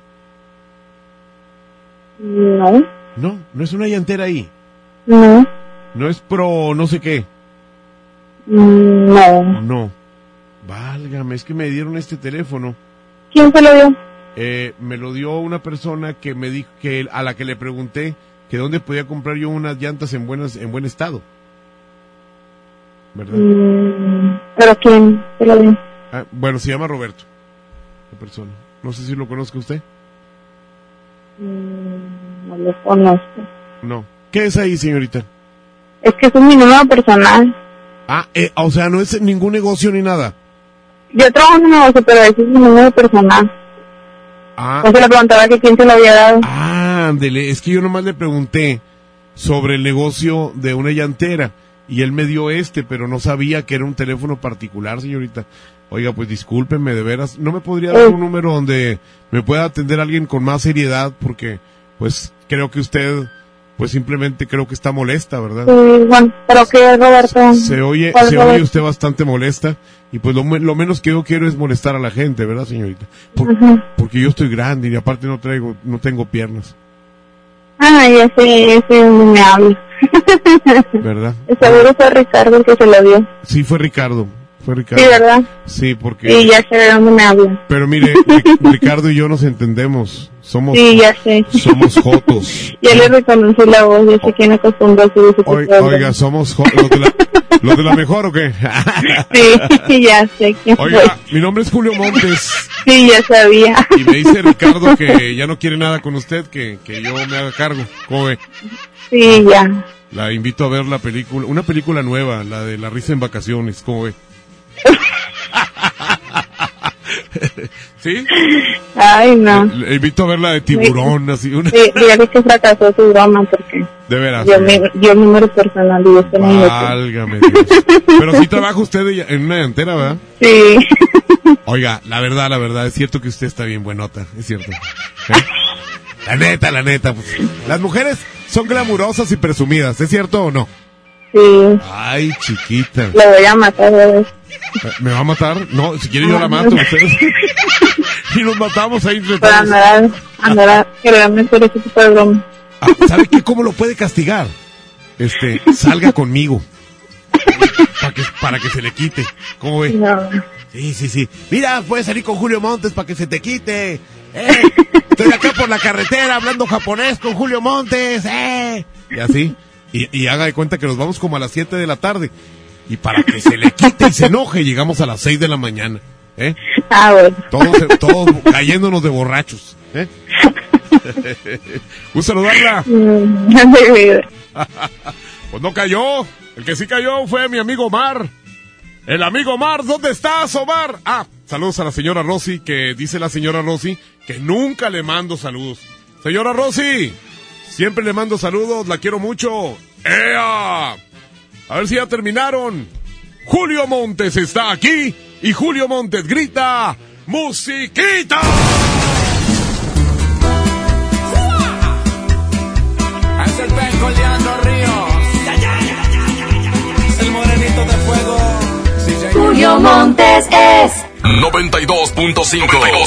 No. No, no es una llantera ahí. No. No es pro no sé qué. No. No. Válgame, es que me dieron este teléfono. ¿Quién se lo dio? Me lo dio una persona que me dijo que a la que le pregunté que dónde podía comprar yo unas llantas en buen estado. ¿Verdad? ¿Pero quién se lo dio? Bueno, se llama Roberto, la persona. No sé si lo conozca usted. No lo conozco. No. ¿Qué es ahí, señorita? Es que es mi número personal. O sea, no es ningún negocio ni nada. Yo trabajo en un negocio, pero ese es mi número personal. Yo se le preguntaba que quién se lo había dado. Ándele, es que yo nomás le pregunté sobre el negocio de una llantera y él me dio pero no sabía que era un teléfono particular, señorita. Oiga, pues discúlpeme, de veras, ¿no me podría dar un número donde me pueda atender alguien con más seriedad? Porque, pues, creo que usted, pues simplemente creo que está molesta, ¿verdad? Sí, bueno, pero que Roberto. Se oye usted bastante molesta y pues lo menos que yo quiero es molestar a la gente, ¿verdad, señorita? Porque yo estoy grande y aparte no tengo piernas. Ese no me habla. ¿Verdad? Seguro fue Ricardo el que se lo dio. Sí, fue Ricardo. Sí, ¿verdad? Sí, porque... Sí, ya sé de dónde me habla. Pero mire, Ricardo y yo nos entendemos. Sí, ya sé. Somos jotos. Ya le reconocí la voz, yo sé quién acostumbró a subir su Oiga, somos ¿los de la mejor o qué? Sí, ya sé quién Oiga, fue. mi nombre es Julio Montes. Sí, ya sabía. Y me dice Ricardo que ya no quiere nada con usted, que yo me haga cargo. ¿Cómo ve? Sí, ya. La invito a ver la película, una película nueva, la de La risa en vacaciones. ¿Cómo ve? ¿Sí? Ay, no. Le invito a ver la de Tiburón, así una. Sí, dígale que fracasó su broma porque... De veras. Yo mi número personal y usted no. Válgame Dios. Pero sí trabaja usted en una llantera, ¿verdad? Sí. Oiga, la verdad, es cierto que usted está bien buenota, es cierto. La neta, pues, las mujeres son glamurosas y presumidas, ¿es cierto o no? Sí. Ay, chiquita. Le voy a matar, ¿verdad? ¿Me va a matar? No, si quiere yo la mato. Ustedes. Y nos matamos ahí entre todos. Para andar quererme hacer ese tipo de broma. ¿Sabe qué? ¿Cómo lo puede castigar? Salga conmigo. Para que se le quite. ¿Cómo ve? No. Sí. Mira, puedes salir con Julio Montes para que se te quite. Estoy acá por la carretera hablando japonés con Julio Montes. Y así. Y haga de cuenta que nos vamos como a las 7 de la tarde. Y para que se le quite y se enoje, llegamos a las 6 de la mañana. Bueno. Todos cayéndonos de borrachos. ¿Gusta saludarla? Pues no cayó. El que sí cayó fue mi amigo Omar. El amigo Omar, ¿dónde estás, Omar? Saludos a la señora Rosy, que dice la señora Rosy que nunca le mando saludos. Señora Rosy, siempre le mando saludos, la quiero mucho. ¡Ea! A ver si ya terminaron. Julio Montes está aquí y Julio Montes grita ¡musiquita! Es el Penco Leandro Ríos. El morenito de fuego. Julio Montes es 92.5.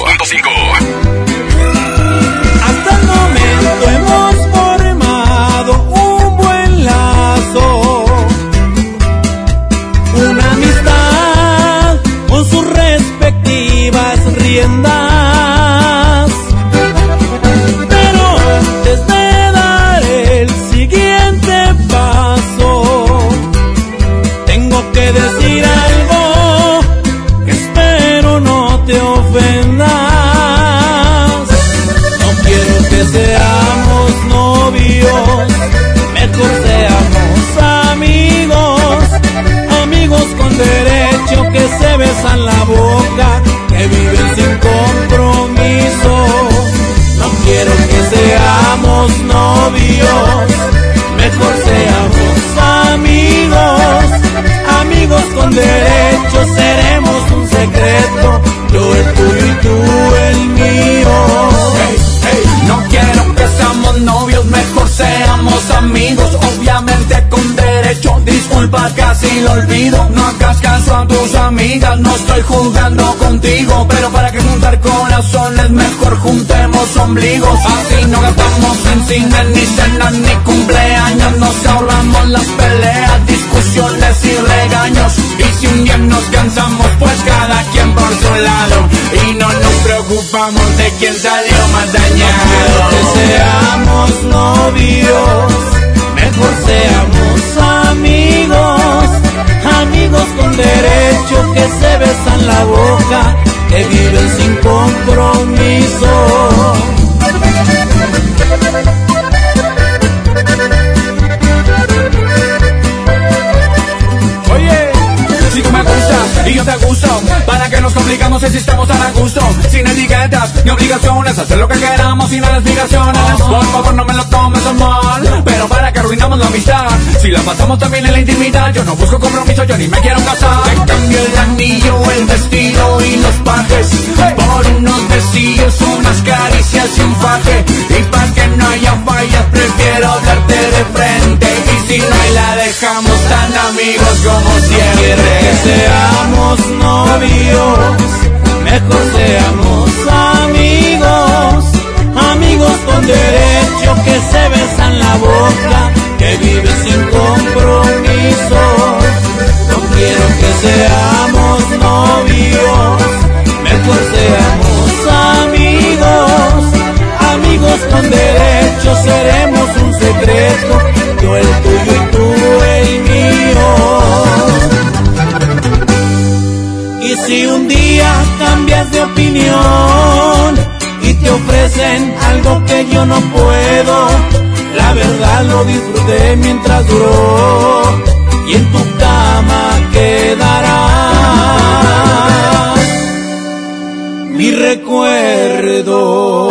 Hasta el momento hemos formado un buen lazo, una amistad con sus respectivas riendas. besan la boca, que viven sin compromiso. No quiero que seamos novios, mejor seamos amigos. Amigos con derechos, seremos un secreto, yo el tuyo y tú el mío. Hey, hey, no quiero que seamos novios, mejor seamos amigos. Obviamente con derecho, disculpa casi lo olvido. No hagas caso a tus amigas, no estoy jugando contigo. Pero para que juntar corazones, mejor juntemos ombligos. Así no gastamos en cine, ni cenas, ni cumpleaños. Nos ahorramos las peleas, discusiones y regaños. Y si un día nos cansamos, pues cada quien por su lado. Y no nos preocupamos de quién salió más dañado. Que seamos novios, mejor seamos amigos. Amigos con derecho, que se besan la boca, que viven sin compromiso. Oye, si tú me gustas y yo te gusto, ¿para qué nos complicamos si estamos tan a gusto? Sin etiquetas ni obligaciones, hacer lo que queramos sin obligaciones. Por favor no me lo tomes a mal, pero para que arruinamos la amistad. Si la pasamos también en la intimidad, yo no busco compromiso, yo ni me quiero casar. Te cambio el anillo, el vestido y los pajes, por unos besillos, unas caricias y un faje. Y para que no haya fallas, prefiero darte de frente. Y si no hay, la dejamos tan amigos como siempre. Que seamos novios, mejor seamos amigos. Amigos con derecho, que se besan la boca, que viven sin compromiso. No quiero que seamos novios, mejor seamos amigos. Amigos con derecho, seremos un secreto, yo el tuyo y tú el mío. Y si un día cambias de opinión y te ofrecen algo que yo no puedo, la verdad lo disfruté mientras duró, y en tu cama quedará mi recuerdo.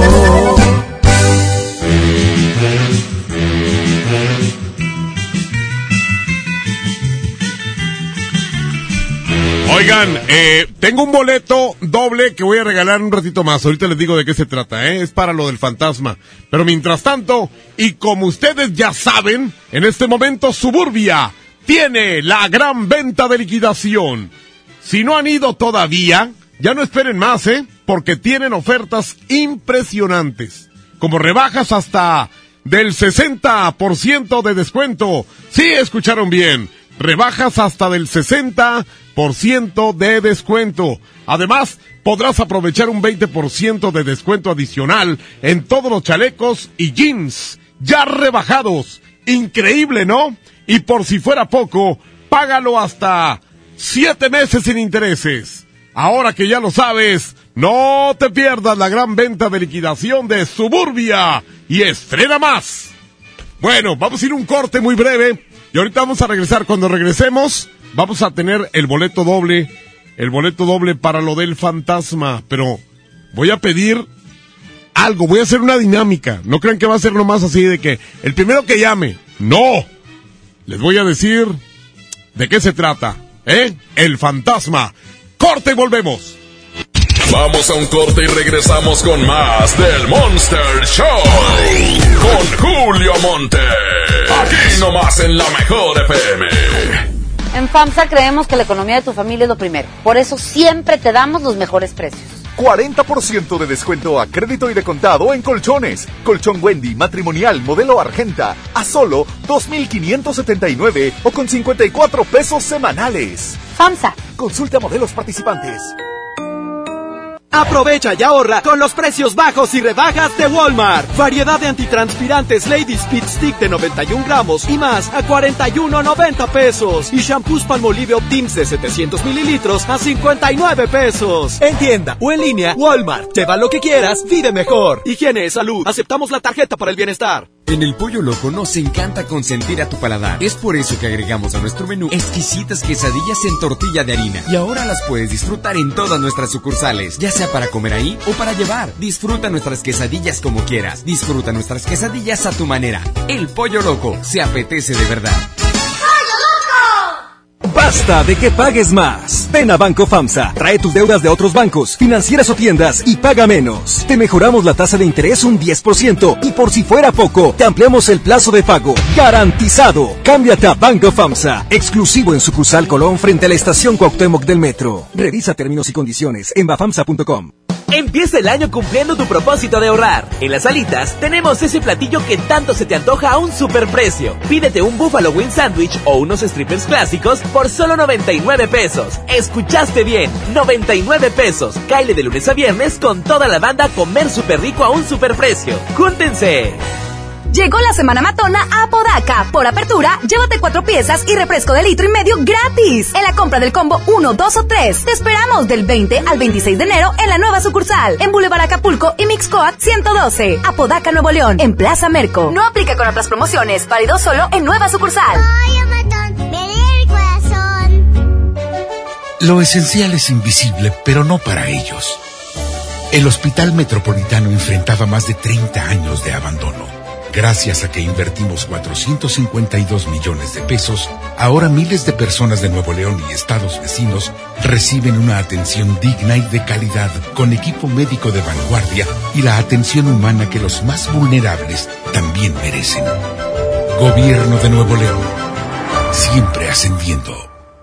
Oigan, tengo un boleto doble que voy a regalar un ratito más. Ahorita les digo de qué se trata, es para lo del fantasma. Pero mientras tanto, y como ustedes ya saben, en este momento Suburbia tiene la gran venta de liquidación. Si no han ido todavía, ya no esperen más, porque tienen ofertas impresionantes, como rebajas hasta del 60% de descuento. Sí, escucharon bien, rebajas hasta del 60% de descuento. Además, podrás aprovechar un 20% de descuento adicional en todos los chalecos y jeans ya rebajados. Increíble, ¿no? Y por si fuera poco, págalo hasta 7 meses sin intereses. Ahora que ya lo sabes, no te pierdas la gran venta de liquidación de Suburbia y estrena más. Bueno, vamos a ir un corte muy breve y ahorita vamos a regresar. Cuando regresemos, vamos a tener el boleto doble para lo del fantasma. Pero voy a pedir algo, voy a hacer una dinámica. No crean que va a ser nomás así de que el primero que llame. No, les voy a decir de qué se trata, el fantasma. Corte y volvemos. Vamos a un corte y regresamos con más del Monster Show. Con Julio Monte. Aquí nomás en la Mejor FM. En FAMSA creemos que la economía de tu familia es lo primero. Por eso siempre te damos los mejores precios. 40% de descuento a crédito y de contado en colchones. Colchón Wendy matrimonial modelo Argenta a solo 2,579 o con 54 pesos semanales. FAMSA. Consulta modelos participantes. Aprovecha y ahorra con los precios bajos y rebajas de Walmart. Variedad de antitranspirantes Lady Speed Stick de 91 gramos y más a 41.90 pesos. Y shampoos Palmolive Optims de 700 mililitros a 59 pesos. En tienda o en línea, Walmart. Lleva lo que quieras, vive mejor. Higiene, salud. Aceptamos la tarjeta para el bienestar. En el Pollo Loco nos encanta consentir a tu paladar. Es por eso que agregamos a nuestro menú exquisitas quesadillas en tortilla de harina. Y ahora las puedes disfrutar en todas nuestras sucursales, ya sea para comer ahí o para llevar. Disfruta nuestras quesadillas como quieras. Disfruta nuestras quesadillas a tu manera. El Pollo Loco se apetece de verdad. ¡Basta de que pagues más! Ven a Banco FAMSA, trae tus deudas de otros bancos, financieras o tiendas y paga menos. Te mejoramos la tasa de interés un 10% y por si fuera poco, te ampliamos el plazo de pago. ¡Garantizado! Cámbiate a Banco FAMSA, exclusivo en sucursal Colón frente a la estación Cuauhtémoc del Metro. Revisa términos y condiciones en bafamsa.com. Empieza el año cumpliendo tu propósito de ahorrar. En Las Alitas tenemos ese platillo que tanto se te antoja a un superprecio. Pídete un Buffalo Wing Sandwich o unos strippers clásicos por solo 99 pesos. ¿Escuchaste bien? 99 pesos. Cáele de lunes a viernes con toda la banda a comer súper rico a un superprecio. ¡Júntense! Llegó la Semana Matona a Apodaca. Por apertura, llévate 4 piezas y refresco de 1,5 litros gratis en la compra del combo 1, 2 o 3. Te esperamos del 20 al 26 de enero en la nueva sucursal, en Boulevard Acapulco y Mixcoac 112, Apodaca, Nuevo León, en Plaza Merco. No aplica con otras promociones, válido solo en nueva sucursal. Ay, Amatón, me duele el corazón. Lo esencial es invisible, pero no para ellos. El Hospital Metropolitano enfrentaba más de 30 años de abandono. Gracias a que invertimos 452 millones de pesos, ahora miles de personas de Nuevo León y estados vecinos reciben una atención digna y de calidad, con equipo médico de vanguardia y la atención humana que los más vulnerables también merecen. Gobierno de Nuevo León, siempre ascendiendo.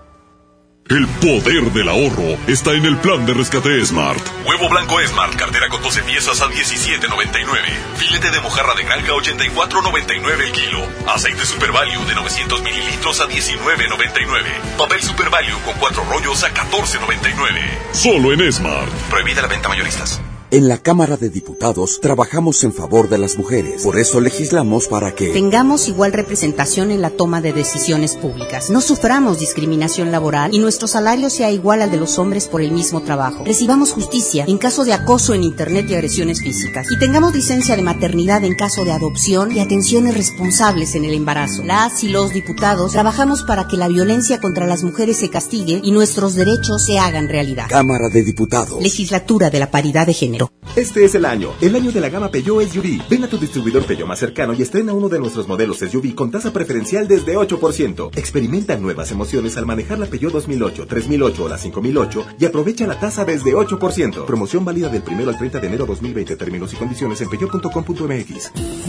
El poder del ahorro está en el plan de rescate Smart. Huevo blanco Smart, cartera con 12 piezas a $17.99. Filete de mojarra de granja 84.99 el kilo. Aceite Super Value de 900 mililitros a $19.99. Papel Super Value con 4 rollos a $14.99. Solo en Smart. Prohibida la venta mayoristas. En la Cámara de Diputados trabajamos en favor de las mujeres. Por eso legislamos para que tengamos igual representación en la toma de decisiones públicas. No suframos discriminación laboral y nuestro salario sea igual al de los hombres por el mismo trabajo. Recibamos justicia en caso de acoso en Internet y agresiones físicas. Y tengamos licencia de maternidad en caso de adopción y atenciones responsables en el embarazo. Las y los diputados trabajamos para que la violencia contra las mujeres se castigue y nuestros derechos se hagan realidad. Cámara de Diputados. Legislatura de la Paridad de Género. Este es el año de la gama Peugeot SUV. Ven a tu distribuidor Peugeot más cercano y estrena uno de nuestros modelos SUV con tasa preferencial desde 8%. Experimenta nuevas emociones al manejar la Peugeot 2008, 3008 o la 5008 y aprovecha la tasa desde 8%. Promoción válida del 1 al 30 de enero 2020. Términos y condiciones en peugeot.com.mx.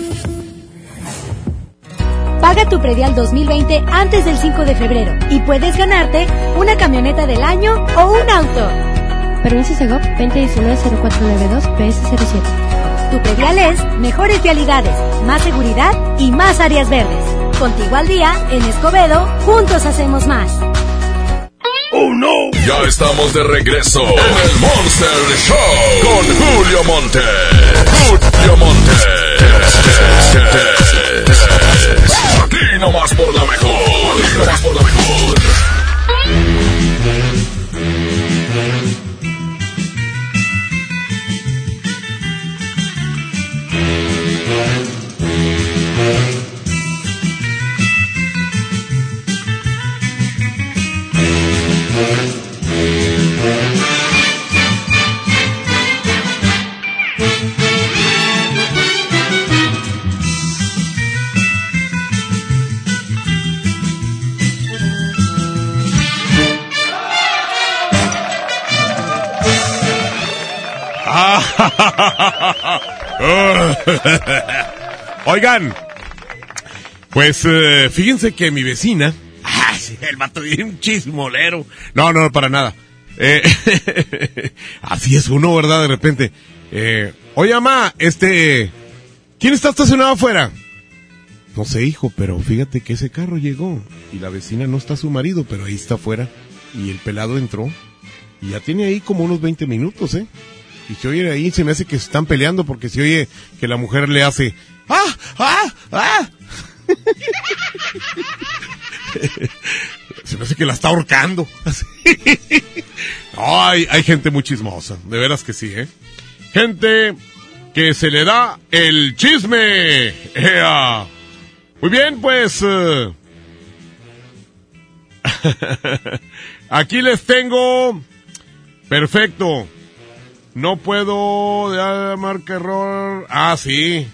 Paga tu predial 2020 antes del 5 de febrero y puedes ganarte una camioneta del año o un auto. Permiso Segov 2019-0492 PS07. Tu predial es mejores vialidades, más seguridad y más áreas verdes. Contigo al día, en Escobedo, juntos hacemos más. ¡Oh, no! Ya estamos de regreso en el Monster Show con Julio Monte. Julio Monte. Aquí nomás por la mejor. Aquí nomás por la mejor. Oigan, pues fíjense que mi vecina, el vato bien chismolero, no, para nada, así es uno, ¿verdad? De repente, oye, mamá, ¿quién está estacionado afuera? No sé, hijo, pero fíjate que ese carro llegó y la vecina no está su marido, pero ahí está afuera y el pelado entró y ya tiene ahí como unos 20 minutos, y se oye ahí, se me hace que se están peleando porque se oye que la mujer le hace se me hace que la está ahorcando. No, hay gente muy chismosa, de veras que sí, gente que se le da el chisme. ¡Ea! Muy bien, pues... aquí les tengo... Perfecto. No puedo... marca error... Ah, sí.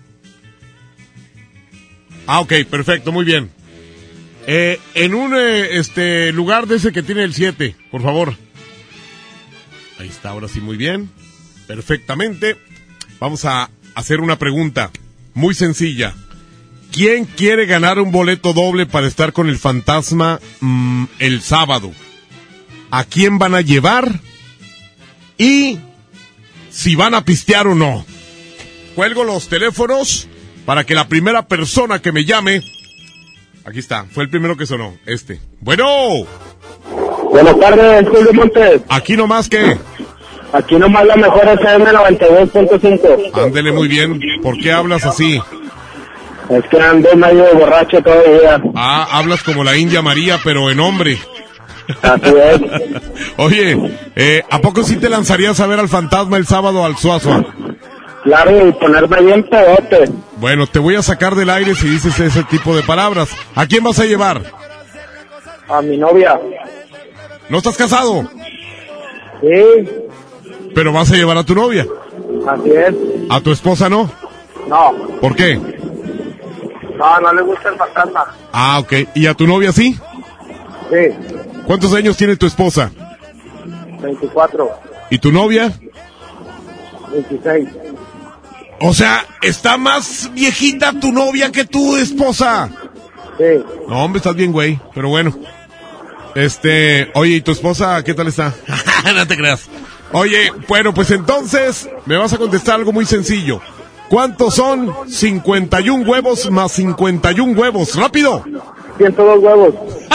Ah, ok, perfecto, muy bien. En un lugar de ese que tiene el 7, por favor. Ahí está, ahora sí, muy bien. Perfectamente. Vamos a hacer una pregunta muy sencilla. ¿Quién quiere ganar un boleto doble para estar con el fantasma el sábado? ¿A quién van a llevar? Y si van a pistear o no. Cuelgo los teléfonos para que la primera persona que me llame... Aquí está, fue el primero que sonó, Bueno. Buenas tardes, Julio Montes. Aquí nomás que... Aquí nomás la mejor FM 92.5. Ándele muy bien. ¿Por qué hablas así? Es que ando medio borracho todavía. Ah, hablas como la India María, pero en hombre. Así es. Oye, ¿a poco sí te lanzarías a ver al fantasma el sábado al Suazua? Claro, y ponerme bien pedote. Bueno, te voy a sacar del aire si dices ese tipo de palabras. ¿A quién vas a llevar? A mi novia. ¿No estás casado? Sí. ¿Pero vas a llevar a tu novia? Así es. ¿A tu esposa no? No. ¿Por qué? No le gusta el fantasma. Ah, ok. ¿Y a tu novia sí? Sí. ¿Cuántos años tiene tu esposa? 24. ¿Y tu novia? 26. O sea, ¿está más viejita tu novia que tu esposa? Sí. No, hombre, estás bien, güey. Pero bueno. Oye, ¿y tu esposa qué tal está? No te creas. Oye, bueno, pues entonces me vas a contestar algo muy sencillo. ¿Cuántos son 51 huevos más 51 huevos? ¡Rápido! 102 huevos.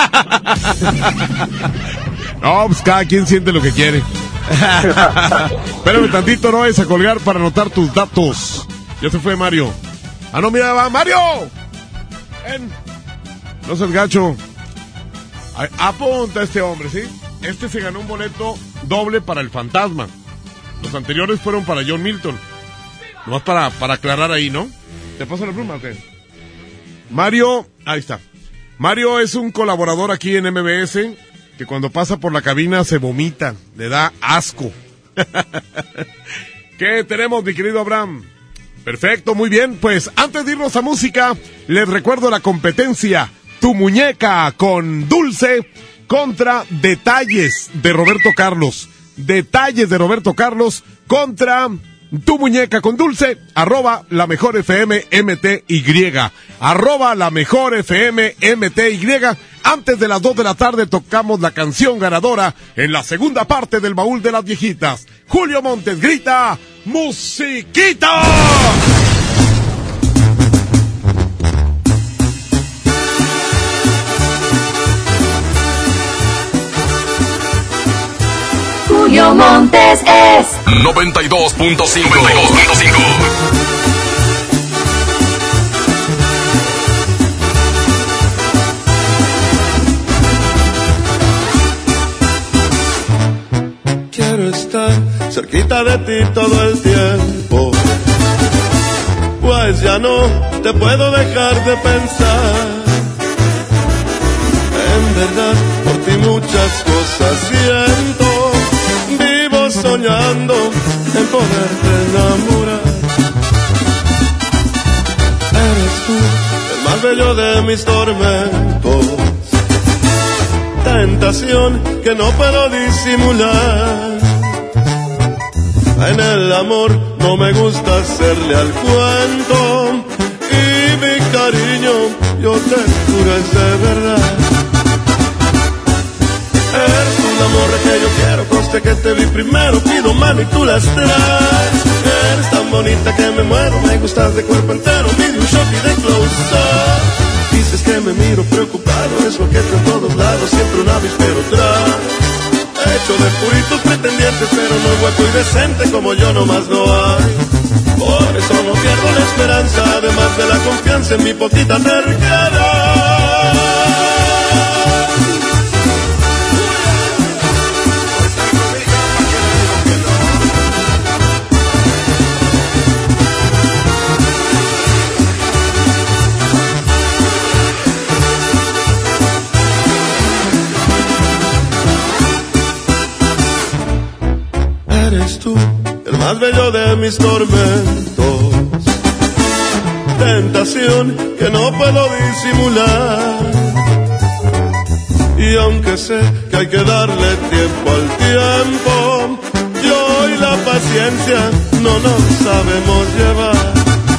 No, pues cada quien siente lo que quiere. Espérame tantito, no vayas a colgar para anotar tus datos. Ya se fue Mario. Ah, no, mira, va Mario. Ven. No seas gacho. Apunta a este hombre, ¿sí? Se ganó un boleto doble para el fantasma. Los anteriores fueron para John Milton. Nomás para aclarar ahí, ¿no? ¿Te paso la pluma o qué? Mario, ahí está. Mario es un colaborador aquí en MBS que cuando pasa por la cabina se vomita, le da asco. ¿Qué tenemos, mi querido Abraham? Perfecto, muy bien. Pues antes de irnos a música, les recuerdo la competencia. Tu muñeca con Dulce contra Detalles de Roberto Carlos. Detalles de Roberto Carlos contra Tu muñeca con Dulce, @la mejor FM MTY, @la mejor FM MTY. Antes de las 2 de la tarde tocamos la canción ganadora en la segunda parte del baúl de las viejitas. Julio Montes grita, ¡musiquita! Julio Montes es 92.5. Quiero estar cerquita de ti todo el tiempo, pues ya no te puedo dejar de pensar. En verdad, por ti muchas cosas siento. Vivo soñando en poderte enamorar. Eres tú el más bello de mis tormentos, tentación que no puedo disimular. En el amor no me gusta hacerle al cuento, y mi cariño yo te juro es de verdad. Eres un amor que yo quiero, conste que te vi primero, pido mano y tú las traes. Eres tan bonita que me muero, me gustas de cuerpo entero, pide un shot y de close-up. Dices que me miro preocupado, es lo que tú en todos lados, siempre un avispero traes. Hecho de puritos pretendientes, pero no hueco y decente como yo nomás no hay. Por eso no pierdo la esperanza, además de la confianza en mi poquita terquedad. Eres tú, el más bello de mis tormentos. Tentación que no puedo disimular. Y aunque sé que hay que darle tiempo al tiempo, yo y la paciencia no nos sabemos llevar.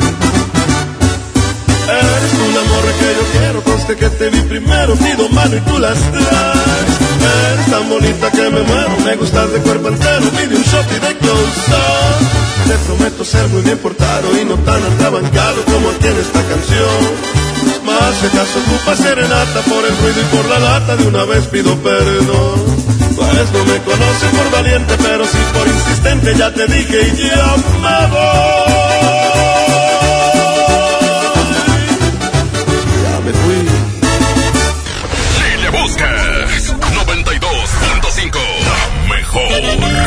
Eres tú el amor que yo quiero, conste que te vi primero, pido mano y tú las traes. Eres tan bonita que me muero, me gustas de cuerpo entero, pide un shot y de close-up. Te prometo ser muy bien portado y no tan atrabancado como aquí en esta canción. Más si acaso ocupa serenata por el ruido y por la lata, de una vez pido perdón. Pues no me conoces por valiente, pero sí por insistente, ya te dije y ya me voy. Ya me fui. Si le buscas 92.5, la mejor.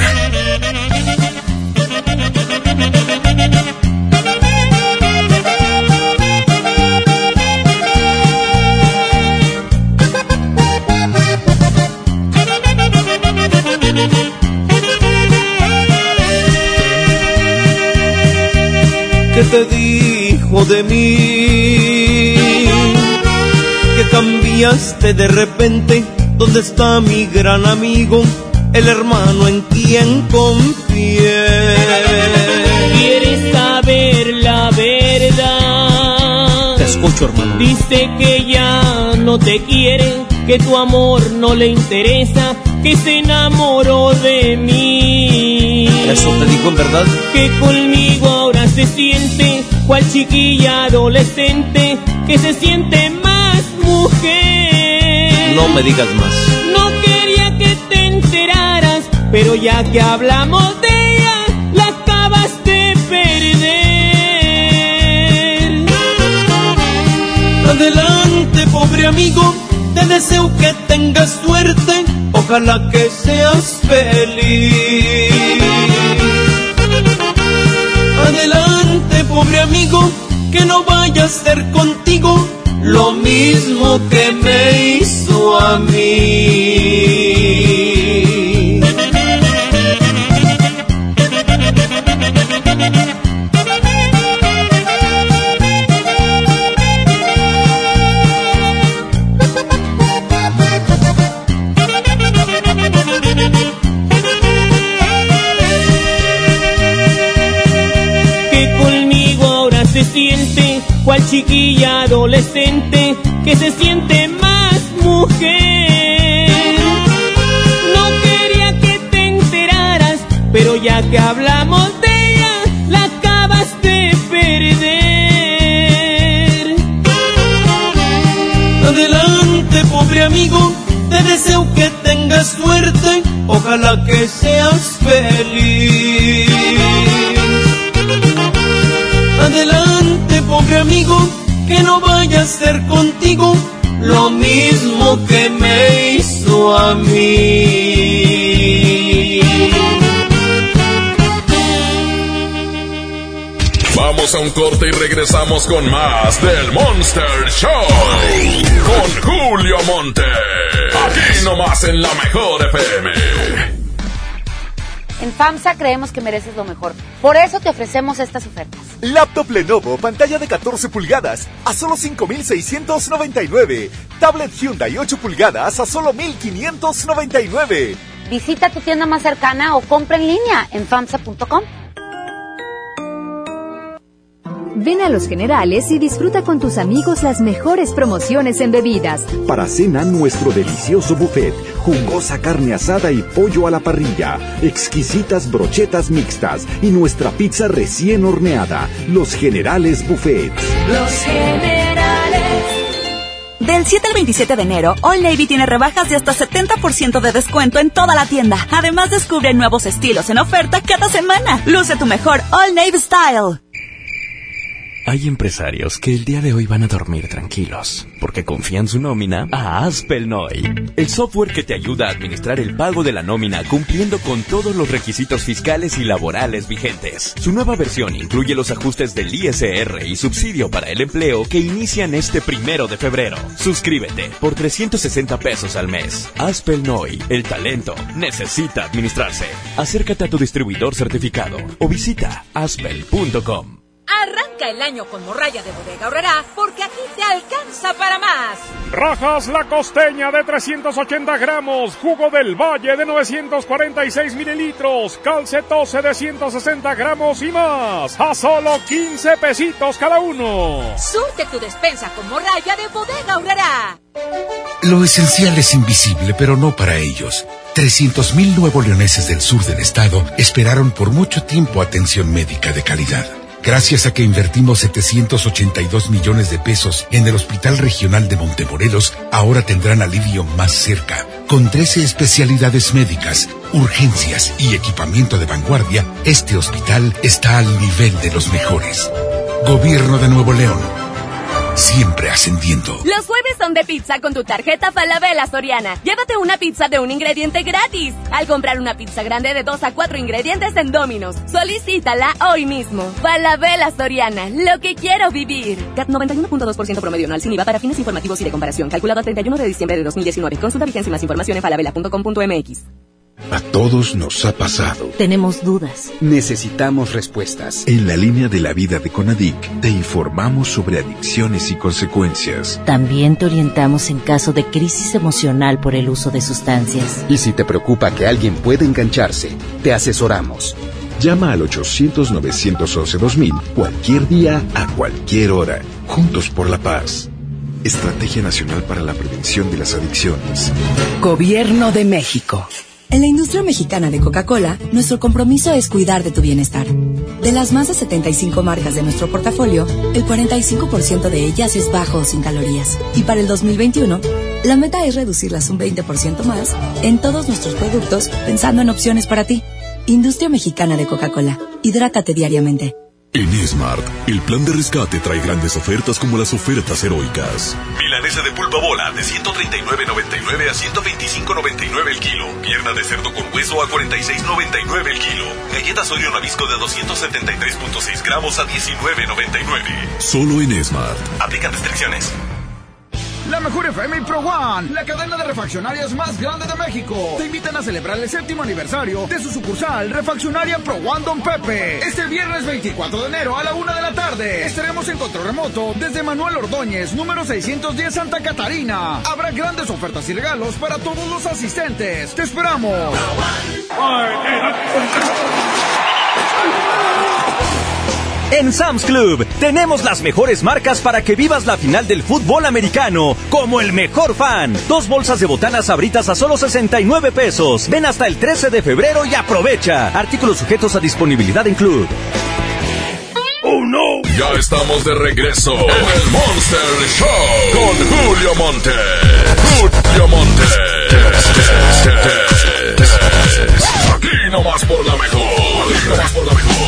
¿Qué te dijo de mí? Que cambiaste de repente. ¿Dónde está mi gran amigo? El hermano en quien confié. ¿Quieres saber la verdad? Te escucho, hermano. Dice que ya no te quiere, que tu amor no le interesa, que se enamoró de mí. ¿Eso te dijo en verdad? Que conmigo ahora se siente cual chiquilla adolescente, que se siente más mujer. No me digas más. No quería que te enteraras, pero ya que hablamos de ella, la acabas de perder. Adelante, pobre amigo, te deseo que tengas suerte, ojalá que seas feliz. Adelante, pobre amigo, que no vaya a ser contigo lo mismo que me hizo a mí. Se siente cual chiquilla adolescente, que se siente más mujer. No quería que te enteraras, pero ya que hablamos de ella, la acabas de perder. Adelante, pobre amigo, te deseo que tengas suerte, ojalá que seas feliz. Adelante, pobre amigo, que no vaya a ser contigo lo mismo que me hizo a mí. Vamos a un corte y regresamos con más del Monster Show con Julio Monte. Aquí nomás en la mejor FM. En FAMSA creemos que mereces lo mejor. Por eso te ofrecemos estas ofertas. Laptop Lenovo, pantalla de 14 pulgadas a solo 5,699. Tablet Hyundai 8 pulgadas a solo 1,599. Visita tu tienda más cercana o compra en línea en FAMSA.com. Ven a Los Generales y disfruta con tus amigos las mejores promociones en bebidas. Para cena, nuestro delicioso buffet, jugosa carne asada y pollo a la parrilla, exquisitas brochetas mixtas y nuestra pizza recién horneada. Los Generales Buffet. Los Generales. Del 7 al 27 de enero, Old Navy tiene rebajas de hasta 70% de descuento en toda la tienda. Además, descubre nuevos estilos en oferta cada semana. Luce tu mejor Old Navy Style. Hay empresarios que el día de hoy van a dormir tranquilos, porque confían su nómina a Aspelnoy, el software que te ayuda a administrar el pago de la nómina cumpliendo con todos los requisitos fiscales y laborales vigentes. Su nueva versión incluye los ajustes del ISR y subsidio para el empleo que inician este 1 de febrero. Suscríbete por 360 pesos al mes. Aspelnoy, el talento necesita administrarse. Acércate a tu distribuidor certificado o visita aspel.com. Arranca el año con morralla de Bodega Aurrerá, porque aquí te alcanza para más. Rajas La Costeña de 380 gramos, Jugo del Valle de 946 mililitros, Calcetose de 160 gramos y más, a solo 15 pesitos cada uno. Surte tu despensa con morralla de Bodega Aurrerá. Lo esencial es invisible, pero no para ellos. 300,000 nuevoleoneses del sur del estado esperaron por mucho tiempo atención médica de calidad. Gracias a que invertimos 782 millones de pesos en el Hospital Regional de Montemorelos, ahora tendrán alivio más cerca. Con 13 especialidades médicas, urgencias y equipamiento de vanguardia, este hospital está al nivel de los mejores. Gobierno de Nuevo León. Siempre ascendiendo. Los jueves son de pizza con tu tarjeta Falabella Soriana. Llévate una pizza de un ingrediente gratis al comprar una pizza grande de 2 a 4 ingredientes en Domino's. Solicítala hoy mismo. Falabella Soriana, lo que quiero vivir. CAT 91.2% promedio anual sin IVA para fines informativos y de comparación. Calculado a 31 de diciembre de 2019. Consulta vigencia y más información en falabella.com.mx. A todos nos ha pasado. Tenemos dudas. Necesitamos respuestas. En la línea de la vida de Conadic te informamos sobre adicciones y consecuencias. También te orientamos en caso de crisis emocional por el uso de sustancias. Y si te preocupa que alguien pueda engancharse, te asesoramos. Llama al 800-911-2000 cualquier día, a cualquier hora. Juntos por la paz. Estrategia Nacional para la Prevención de las Adicciones. Gobierno de México. En la industria mexicana de Coca-Cola, nuestro compromiso es cuidar de tu bienestar. De las más de 75 marcas de nuestro portafolio, el 45% de ellas es bajo o sin calorías. Y para el 2021, la meta es reducirlas un 20% más en todos nuestros productos, pensando en opciones para ti. Industria mexicana de Coca-Cola. Hidrátate diariamente. En Smart, el plan de rescate trae grandes ofertas como las ofertas heroicas. Milanesa de pulpa bola de 139.99 a 125.99 el kilo. Pierna de cerdo con hueso a 46.99 el kilo. Galletas Oreo Nabisco de 273.6 gramos a 19.99. Solo en Smart. Aplican restricciones. La mejor FM y Pro One, la cadena de refaccionarias más grande de México, te invitan a celebrar el 7º aniversario de su sucursal Refaccionaria Pro One Don Pepe. Este viernes 24 de enero a la 1 de la tarde estaremos en control remoto desde Manuel Ordóñez, número 610 Santa Catarina. Habrá grandes ofertas y regalos para todos los asistentes. ¡Te esperamos! En Sam's Club tenemos las mejores marcas para que vivas la final del fútbol americano como el mejor fan. 2 bolsas de botanas Sabritas a solo 69 pesos. Ven hasta el 13 de febrero y aprovecha. Artículos sujetos a disponibilidad en Club. ¡Oh, no! Ya estamos de regreso en el Monster Show con Julio Monte. Julio Monte. Aquí nomás por la mejor. Aquí nomás por la mejor.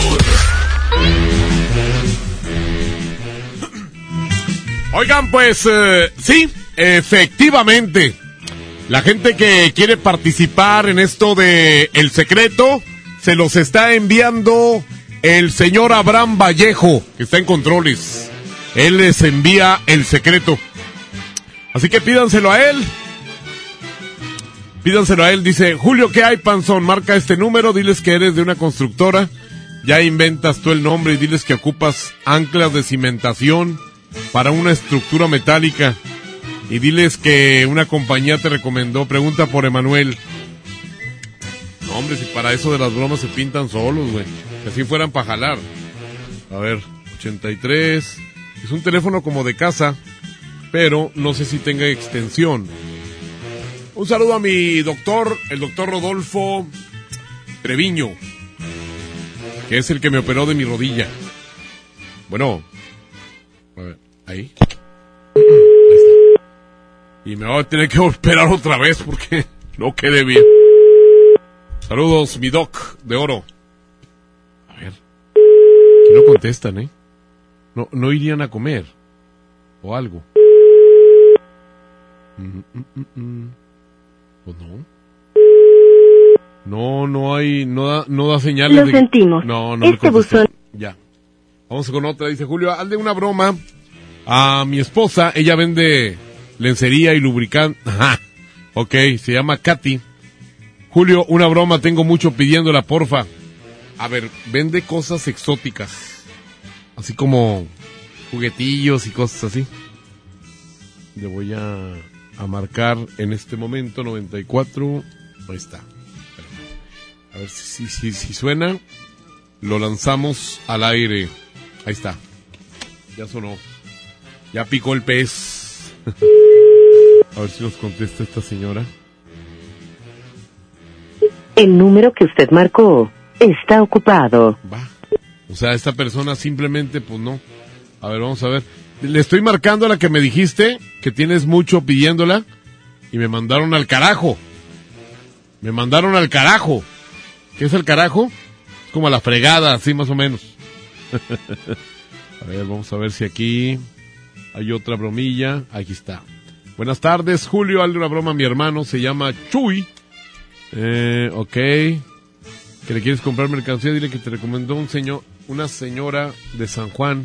Oigan, pues sí, efectivamente, la gente que quiere participar en esto de El Secreto, se los está enviando el señor Abraham Vallejo, que está en controles. Él les envía El Secreto. Así que pídanselo a él. Pídanselo a él, dice: Julio, ¿qué hay, panzón? Marca este número, diles que eres de una constructora. Ya inventas tú el nombre y diles que ocupas anclas de cimentación para una estructura metálica. Y diles que una compañía te recomendó. Pregunta por Emanuel. No, hombre, si para eso de las bromas se pintan solos, güey. Que así fueran para jalar. A ver, 83. Es un teléfono como de casa, pero no sé si tenga extensión. Un saludo a mi doctor, el doctor Rodolfo Treviño, que es el que me operó de mi rodilla. Bueno, a ver, ahí está. Y me va a tener que operar otra vez porque no quedé bien. Saludos, mi doc de oro. A ver, aquí no contestan, no irían a comer o algo. Pues no hay, no da señales. Lo sentimos. No este buzón. Ya. Vamos con otra. Dice Julio, hazle una broma a mi esposa. Ella vende lencería y lubricante. Ajá. Ok, se llama Katy. Julio, una broma, tengo mucho pidiéndola, porfa. A ver, vende cosas exóticas. Así como juguetillos y cosas así. Le voy a marcar en este momento 94. Ahí está. A ver si suena. Lo lanzamos al aire. Ahí está. Ya sonó. Ya picó el pez. A ver si nos contesta esta señora. El número que usted marcó está ocupado. Va. O sea, esta persona simplemente, pues no. A ver, vamos a ver. Le estoy marcando a la que me dijiste que tienes mucho pidiéndola y me mandaron al carajo. Me mandaron al carajo. ¿Qué es el carajo? Es como a la fregada, así más o menos. A ver, vamos a ver si aquí hay otra bromilla. Aquí está. Buenas tardes, Julio. Hazle una broma a mi hermano. Se llama Chuy. Ok. Que le quieres comprar mercancía. Dile que te recomendó una señora de San Juan.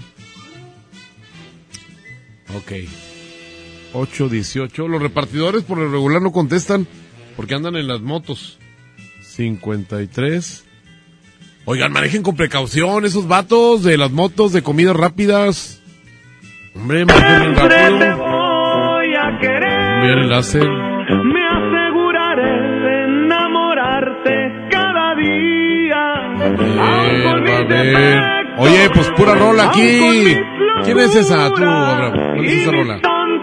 Ok. 818. Los repartidores por lo regular no contestan porque andan en las motos. 53. Oigan, manejen con precaución esos vatos de las motos de comidas rápidas. Hombre, manejen rápido. Voy a querer. Bien enlace. Me aseguraré de enamorarte cada día. A ver. Oye, pues pura rola aquí. ¿Quién es esa? Tú, Abraham. ¿Cuál es esa rola?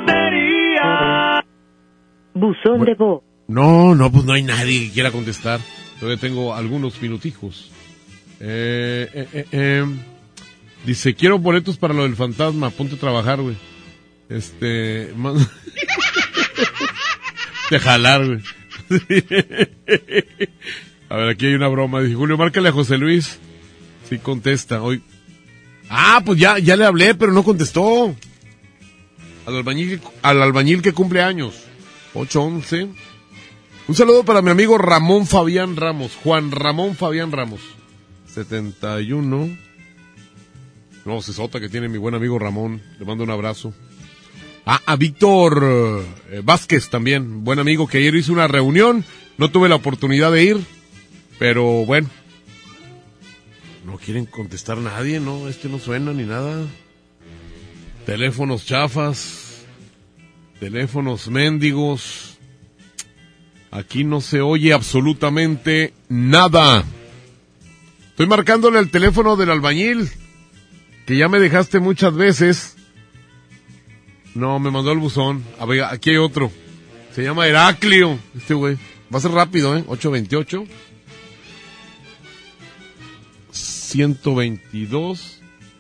Buzón de voz. No, pues no hay nadie que quiera contestar. Todavía tengo algunos minutijos. Dice, quiero boletos para lo del fantasma. Ponte a trabajar, güey. De jalar, güey. A ver, aquí hay una broma. Dice, Julio, márcale a José Luis. Sí contesta hoy. Pues ya le hablé, pero no contestó. Al albañil que cumple años. 811. Un saludo para mi amigo Ramón Fabián Ramos. Juan Ramón Fabián Ramos. 71. No, se sota que tiene mi buen amigo Ramón. Le mando un abrazo. A Víctor Vázquez también. Buen amigo que ayer hizo una reunión. No tuve la oportunidad de ir. Pero bueno. No quieren contestar nadie, ¿no? No suena ni nada. Teléfonos chafas. Teléfonos mendigos. Aquí no se oye absolutamente nada. Estoy marcándole el teléfono del albañil, que ya me dejaste muchas veces. No, me mandó el buzón. A ver, aquí hay otro. Se llama Heraclio. Güey. Va a ser rápido, 828. 122.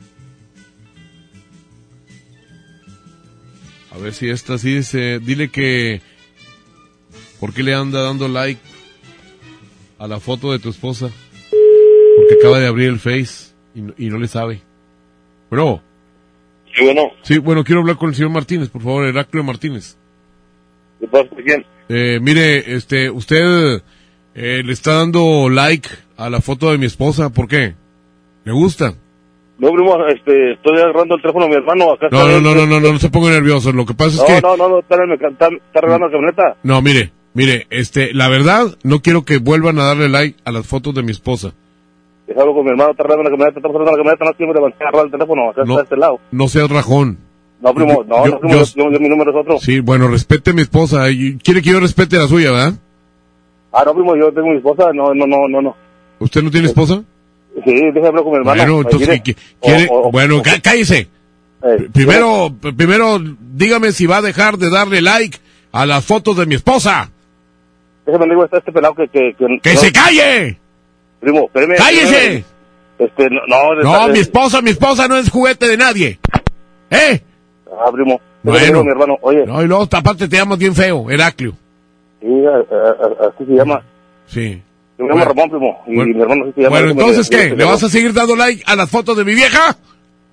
A ver si esta sí dice. Dile que... ¿Por qué le anda dando like a la foto de tu esposa? Porque acaba de abrir el Face y no le sabe. Bro. Sí, bueno. Sí, bueno, quiero hablar con el señor Martínez, por favor, Heraclio Martínez. ¿Qué pasa? ¿Quién? Mire, usted le está dando like a la foto de mi esposa, ¿por qué? ¿Le gusta? No, primo, estoy agarrando el teléfono a mi hermano. Acá no se ponga nervioso, lo que pasa es que... No, está arreglando la camioneta. No, mire, la verdad, no quiero que vuelvan a darle like a las fotos de mi esposa. Es algo con mi hermano, está arreglando la camioneta, no quiero levantar, agarrar el teléfono, acá está de este lado. No seas rajón. No, primo, mi número es otro. Sí, bueno, respete a mi esposa. ¿Quiere que yo respete la suya, verdad? No, primo, yo tengo mi esposa, no. ¿Usted no tiene esposa? Sí, déjame hablar con mi hermano. Bueno, entonces, ¿quiere? Bueno, cállese. Primero, dígame si va a dejar de darle like a las fotos de mi esposa. Déjame digo, está este pelado que ¡Que se calle! Primo, espérame. ¡Cállese! No, mi esposa no es juguete de nadie. Primo. Bueno. Mi hermano, oye. No, y luego, aparte te llamas bien feo, Heraclio. Sí, así se llama. Sí. Yo me llamo Ramón, primo, y mi hermano sí se llama. Bueno, entonces, ¿qué? ¿Le vas a seguir dando like a las fotos de mi vieja?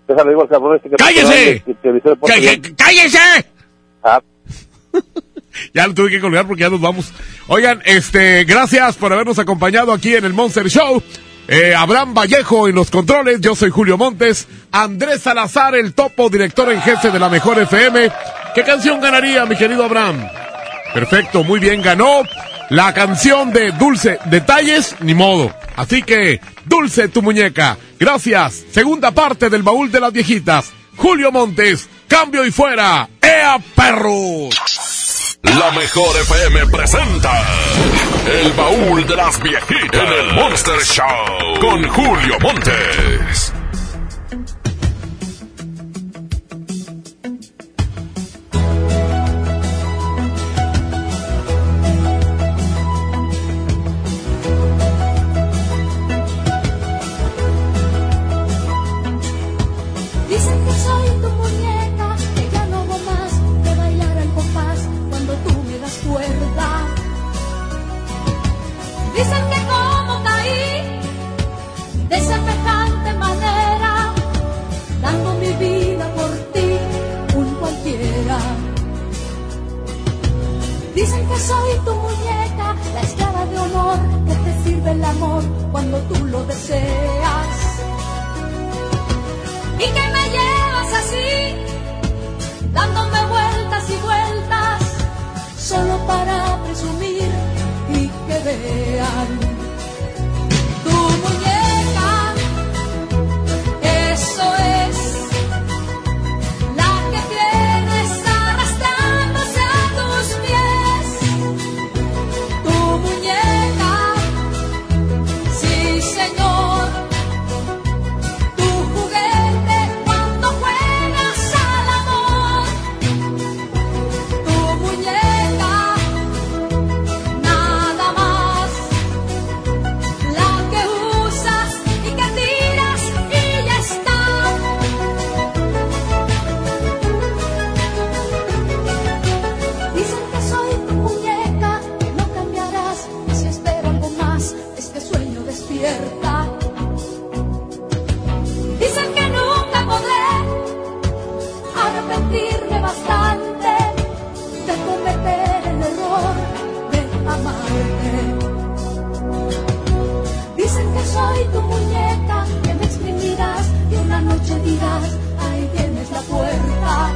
Déjale digo al cabrón que... ¡Cállese! ¡Cállese! Ah. Ya lo tuve que colgar porque ya nos vamos. Oigan, gracias por habernos acompañado aquí en el Monster Show. Abraham Vallejo en los controles, yo soy Julio Montes. Andrés Salazar, el topo, director en jefe de la Mejor FM. ¿Qué canción ganaría, mi querido Abraham? Perfecto, muy bien, ganó la canción de Dulce. Detalles, ni modo. Así que, Dulce tu muñeca. Gracias. Segunda parte del baúl de las viejitas. Julio Montes, cambio y fuera. ¡Ea, perros! La Mejor FM presenta el baúl de las viejitas en el Monster Show con Julio Montes. Dicen que soy tu muñeca, que ya no hago más de bailar al compás cuando tú me das cuerda. Dicen que como caí de semejante manera, dando mi vida por ti, un cualquiera. Dicen que soy tu muñeca, la esclava de honor que te sirve el amor cuando tú lo deseas. Y que me llevas así, dándome vueltas y vueltas, solo para presumir y que vean tu muñeca. Eso es la que tienes arrastrándose a tus pies. Tu muñeca, sí señor. Dicen que nunca podré arrepentirme bastante de cometer el error de amarte. Dicen que soy tu muñeca, que me exprimirás y una noche dirás, ahí tienes la puerta.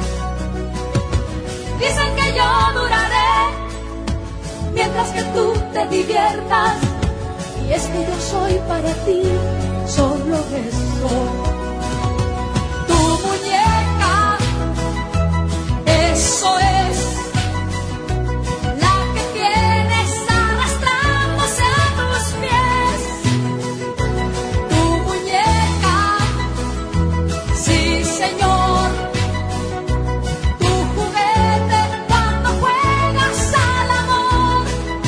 Dicen que yo duraré mientras que tú te diviertas. Y es que yo soy para ti solo eso. Tu muñeca, eso es la que tienes arrastrándose a tus pies. Tu muñeca, sí señor. Tu juguete cuando juegas al amor.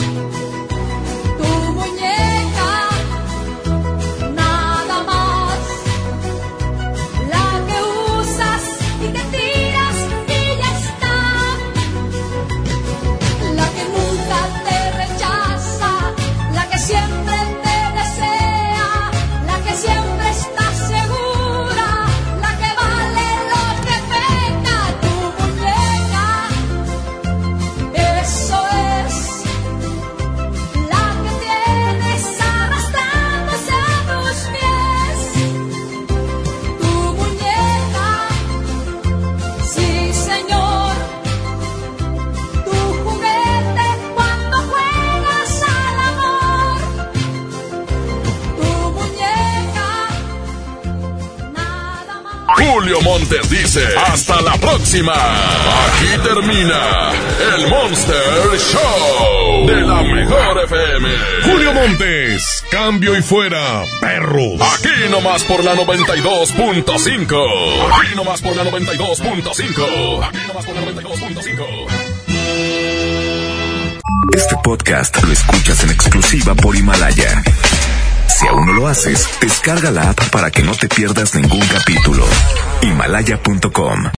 Tu muñeca, nada más, la que usas y que tiras y ya está, la que nunca te rechaza, la que siempre te desea, la que siempre está segura, la que vale lo que venga. Tu muñeca, eso es la que tienes arrastrándose a tus pies. Tu muñeca, sí señor. Tu juguete cuando juegas al amor. Tu muñeca, nada más. Julio Montes dice, hasta la próxima. Aquí termina el Monster Show de la Mejor FM. Julio Montes, cambio y fuera, perros. Aquí nomás por la 92.5. Aquí nomás por la 92.5. Aquí nomás por la 92.5. Este podcast lo escuchas en exclusiva por Himalaya. Si aún no lo haces, descarga la app para que no te pierdas ningún capítulo. Himalaya.com